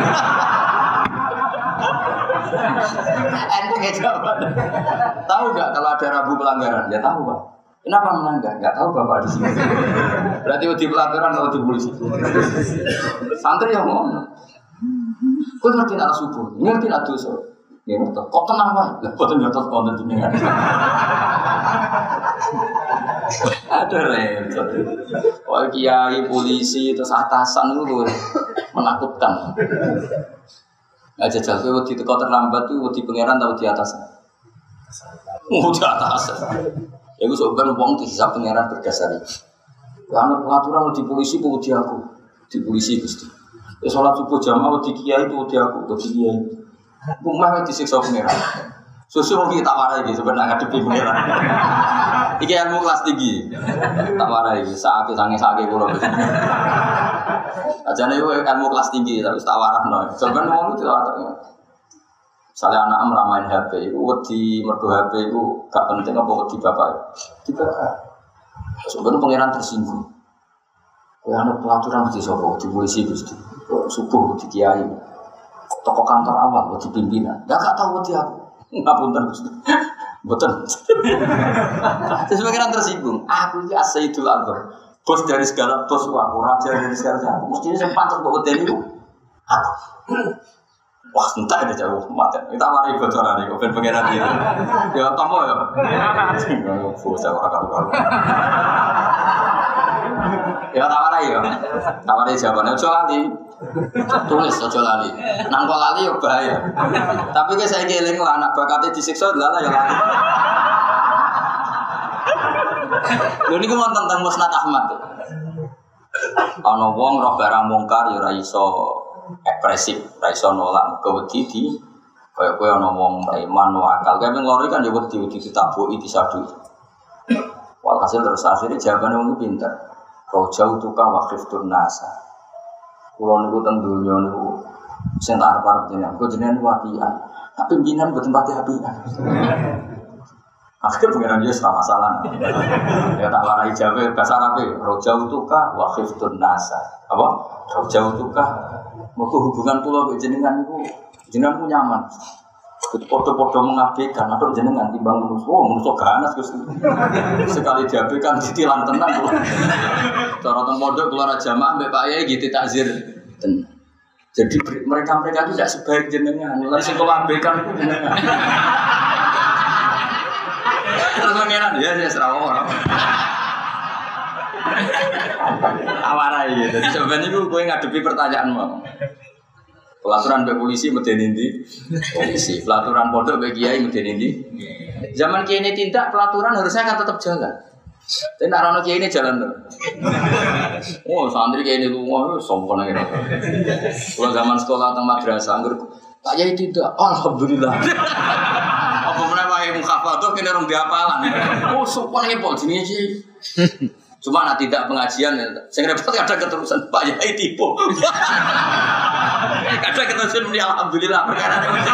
Enteng jawaban. Tahu nggak kalau ada rambu pelanggaran? Ya tahu Pak. Kenapa melanggar? Nggak tahu Bapak di situ. Berarti di pelanggaran atau di polisi? Santri yang ngomong. Kau ngerti nak subuh? Ngerti nak dosa? Ya ngerti. Kok tenang Pak? Lah boten ngerti konten jenengan. Ada repot. Oh kiai polisi terus atasan itu menakutkan. Nggak jajal kowe wedi teko terlambat tuh wedi pangeran tau di atas. Di atas. Ya gue sebenarnya wong dihisab pangeran berdasar itu. Karena pengaturan di polisi ku wedi aku. Di polisi Gusti. Ya salat subuh jamaah wedi kiai itu wedi aku, wedi kiai. Rumah disiksa pangeran. Susu mau kita warai gitu sebenarnya ngadepi pangeran. Iki ilmu kelas tinggi. Tak warai saat sange-sange kula. Ajane yo ilmu kelas tinggi tapi tak warahno. Sampeyan wong itu tak. Misalnya anak meramain HP, itu wedi mergo HP itu gak penting apa wedi bapak. Tidak. Sebenarnya pangeran tersinggung. Kowe ana pelaturan mesti sapa? Di polisi Gusti. Subuh di kiai. Toko kantor awal wedi pimpinan. Enggak tahu wedi aku. Ngapunten Gusti. Mboten. Terus pangeran tersinggung. Aku iki Sayyidul Akbar. Bos dari segala bos aku, raja dari segala aku. Mestinya sing pantes mbok wedeni iku. Aku. Wah, entah ada jauh mati. Kita mari bocoran iki ben pangeran iki. Ya tampo ya. Bos aku ora karo. Ya tawarai ya. Tawarai jawabannya ojo lali. Tulis ojo lali. Nang kok lali ya bahaya. Tapi ki saiki eling lah anak bakate disiksa lala ya lali. Lho niku wonten teng Musnad Ahmad. Ana wong roh barang mungkar ya ora iso ekspresif, ora iso nolak kewedi di kaya kowe ana wong iman wakal. Kae nglori kan ya wedi ditabuki disadu. Walhasil terus akhirnya jawabannya wong pinter. Kau jauh tukang wakif turnasa. Kulo niku teng donya niku sing tak arep-arep jenengan. Kok jenengan wapian. Tapi pimpinan mboten pati apian. Akhirnya pengiran dia serah masalah. Ya tak warai jawabe bahasa Arab. Rojau tukah wakif turnasa. Apa? Rojau tukah. Mergo hubungan kula mbek jenengan niku jenengan ku nyaman. Podo-podo mengabaikan atau jenengan timbang manusia. Oh, manusia ganas Gusti. Sekali diabaikan ditilang tenan kula. Cara teng pondok keluar jamaah mbek Pak Yai gitu takzir tenan. Jadi mereka-mereka itu tidak sebaik jenengan. Mulai sing abaikan ku jenengan. Terus mengenan ya serah orang. Awarai gitu. Jadi sebenarnya gue ngadepi pertanyaanmu. Pelaturan mbek polisi medeni ndi? Polisi. Pelaturan pondok mbek kiai medeni ndi? Zaman kiai ini tindak pelaturan harusnya kan tetap jalan. Tapi nek ana kiai ini jalan terus. Oh, santri kiai ini lunga sombong nang kene. Kalau zaman sekolah teng madrasah anggur tak kiai tidak. Alhamdulillah. Apa meneh wae mukhafadah kene rong diapalan. Oh, sopan iki pol jenenge kiai. Cuma nak tidak pengajian, saya repot kadang keterusan Pak Yai tipu. Kadang keterusan muni alhamdulillah perkara ini.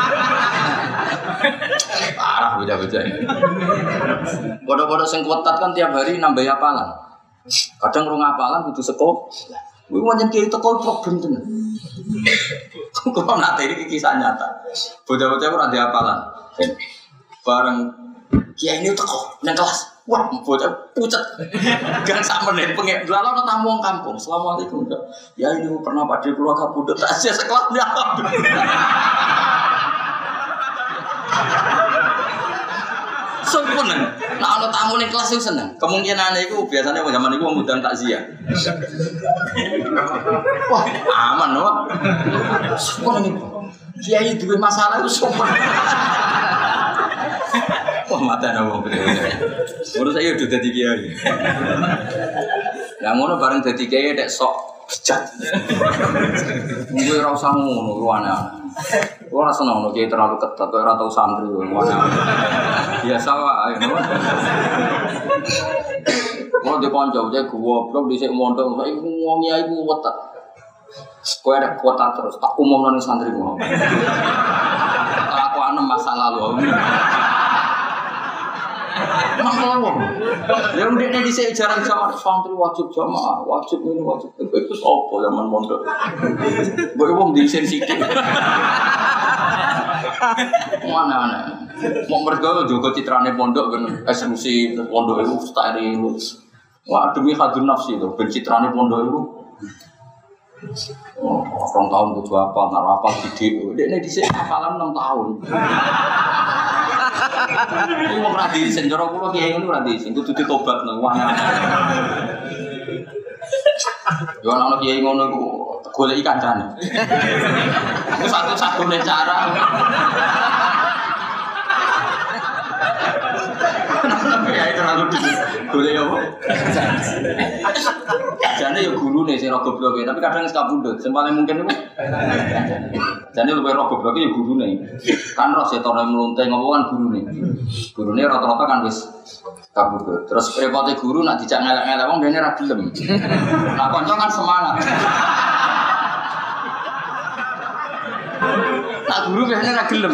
Parah beda-beda. Bodoh-bodoh sing kuatat kan tiap hari nambah hafalan. Kadang rong hafalan kudu sekop. Kuwi pancen kiai teko problem tenan. Kok nate iki kisah nyata. Bocah-bocah ora ndek hafalan. Bareng kiai ini teko nang kelas. Wah, bocah pucet. Gang sak menit pengen. Lalu ana tamu wong kampung. Assalamualaikum. Ya ini pernah Pakde kula kabudut tasya sekelas nyapa. Seneng. Nah ana tamu ning kelas itu seneng. Kemungkinane iku biasanya zaman iku ngundang takziah. Wah, aman loh. Seneng. Kiai duwe masalah itu sopan. Wah mata ana wong gede. Urus saya udah dadi kiai. Lah ngono bareng dadi kiai nek sok bejat. Kuwi ora usah ngono ruwana. Ora seneng ngono kiai terlalu ketat, ora tau santri ruwana. Biasa wae ngono. Mau dikonco cek goblok dhisik mondok saiki wong kiai ku wetet. Kowe ada kuota terus tak umumno ning santri ku. Kelakuan masa lalu. Maklum. Ya ndekne dhisik jarang sama santri wajib jamaah, wajib ini wajib. Itu apa zaman mondok. Mbok wong disen sithik. Mana. Mau mergo jogo citrane pondok ben eksklusif pondok itu steril. Wah demi hadun nafsi itu ben citrane pondok itu. Oh, orang tahun kudu apa, nara apa gede. Dekne dhisik hafalan 6 tahun. Ini mau radhi senjoro kulo kiai ngono radhi sing kudu ditobat nang wong. Yo ana kiai ngono iku goleki kancane. Iku satu-satunya cara. Ya itu terlalu golek apa? Jane yo gurune sing ora gobloke, tapi kadang sekabundut. Sing paling mungkin iku jane luwih ora gobloke yo gurune. Kan roh setone mlunting apa kan gurune. Gurune rata-rata kan wis kabundut. Terus repote guru nak dijak ngelek-ngelek wong dene ra gelem. Nah kanca kan semangat. Tak guru biasanya ra gelem.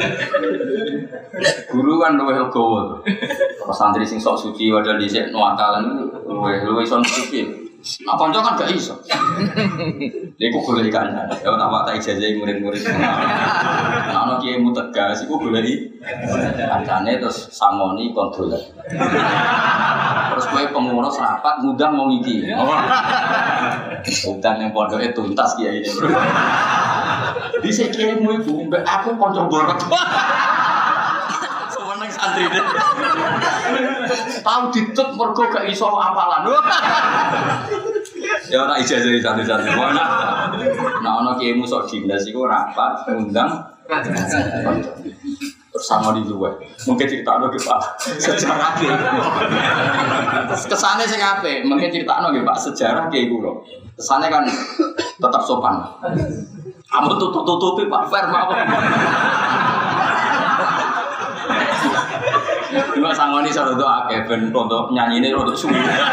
Guru kan luwih legowo. Santri sing sok suci padahal dhisik nuwakalan luwih iso suci. Nah kanca kan gak iso. Iku golek kancane. Ya tak watak ijazah murid-murid. Nah ana kiai mutegas iku goleki kancane terus sangoni kontrol. Terus kowe pengurus rapat ngundang wong iki. Undang yang pondoke tuntas kiai ini. Dhisik kiaimu iku mbek aku kanca borot. Seneng santri. Tahu ditut mergo gak iso apalan. Ya ora ijazah satu-satu. Nah ana kiaimu sok dinas iku rapat undang bersama di luar. Mungkin critakno nggih Pak. Sejarah kiai. Kesane sing apik, mungkin critakno nggih Pak sejarah kiai kula. Kesane kan tetap sopan. Kamu tutup-tutupi Pak Fer mawon. Cuma sangoni sarado akeh ben untuk nyanyine rodok suwi.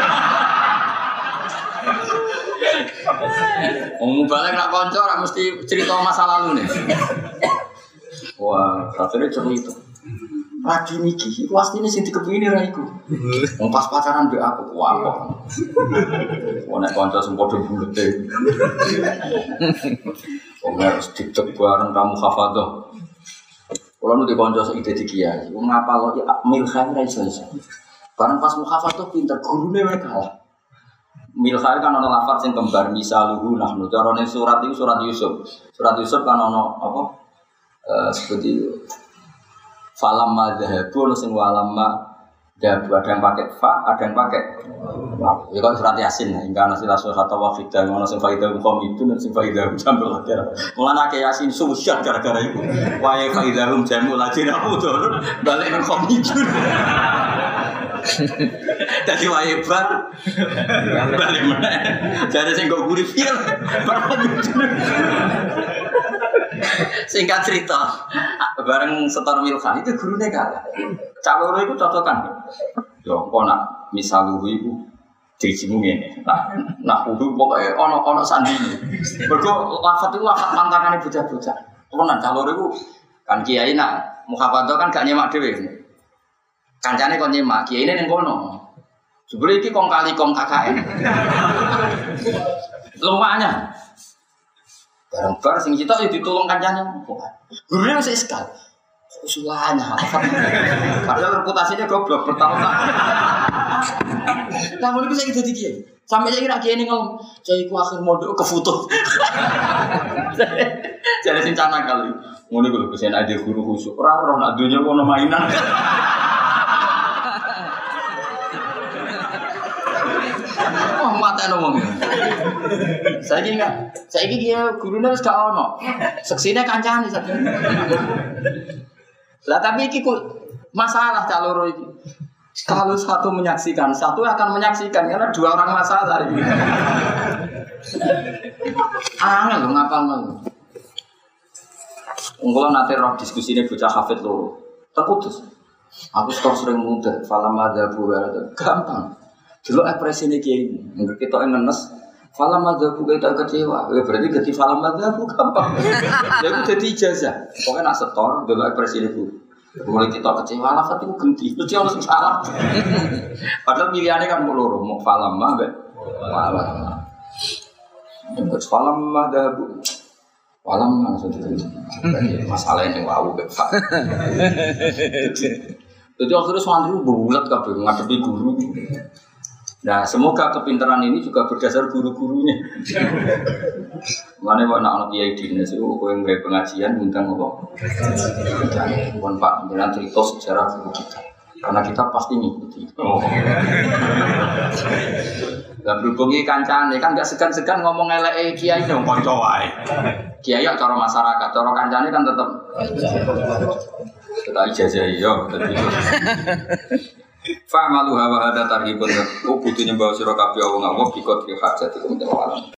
Wong balik nak kanca ora mesti cerita masa lalu nih. Wah, rasane cerita. Lagi niki, pastine sing dikepingin ra iku. Wong pas pacaran mbek aku, wah kok. Wong nek kanca sing padha bulete. Wong harus dicek bareng kamu hafadzah. Kalau nu dikonco ide di kiai, ngapa lo milkhair iso. Barang pas mukhafadzah pinter, gurune wae kalah. Milkhair kan ana lafaz sing kembar misaluhu nahnu. Carane surat itu surat Yusuf. Surat Yusuf kan ana apa? Seperti falam madhabu sing walamma dabu ada yang pakai fa, ada yang pakai ya kan surat Yasin hingga nasi rasul kata wafidah ngono sing faidah hukum itu dan sing faidah jambul akhir mulane ke Yasin susah gara-gara itu wae faidah jambul akhir aku tuh balik nang hukum itu dadi wae bar balik meneh jare sing go guri fil bar singkat cerita bareng setor Milkhan itu gurune kalah caloro itu cocokan yo kok nak misaluhu iku dirimu ngene nah kudu pokoke ana sandine mergo lafat itu lafat mantakane bocah-bocah tenan caloro iku kan kiai nak mukhafadzah kan gak nyemak dhewe kancane kon nyemak kiyaine ning kono jebule iki kong kali kong KKN lumayan bareng-bareng sing kita yo ditulung kancane gurune wis iskal usulannya padahal reputasinya goblok bertahun-tahun namun itu saya jadi kiai sampai saya kira kiai ini ngomong saya ku akhir modal ke foto jadi sincana kali ngene lho pesen aja guru khusuk ora ora nak dunya ono mainan oh mata ngomong saya kiai gurune wis gak ono seksine kancane sakjane. Lah tapi iki masalah caloro iki. Kalau satu menyaksikan, satu akan menyaksikan karena dua orang masalah ini. Angel lho ngapalno. Unggulan nanti roh diskusi ini bocah hafid loro. Terputus. Aku sering muda, falam madzabu gampang. Dulu ekspresine kiai ini, nggak kita ngenes. Falam madzabu kita kecewa, berarti ganti falam madzabu gampang. Ya itu jadi ijazah. Pokoknya nak setor, dulu ekspresine bu. Mulai kita kecewa, lafaz itu ganti. Itu yang harus salah. Padahal pilihannya kan loro, mau falam mah, falam. Yang falam madzabu. Walam langsung ditulis. Masalah yang wow Pak. Jadi akhirnya santri bulat kabeh ngadepi guru. Nah, semoga kepintaran ini juga berdasar guru-gurunya. Mana anak-anak kiai dinas itu kowe nggawe pengajian ngundang apa? Pun Pak, jenengan cerita sejarah guru kita. Karena kita pasti ngikuti. Oh. Lah berhubungi kancane kan enggak segan-segan ngomong eleke kiai dong kanca wae. Kiai cara masyarakat, cara kancane kan tetep kita ijazah yo dadi. Fa'malu hawa hada tarhibun. Ku kudu nyembah sira kabeh wong Allah bikot hajat iku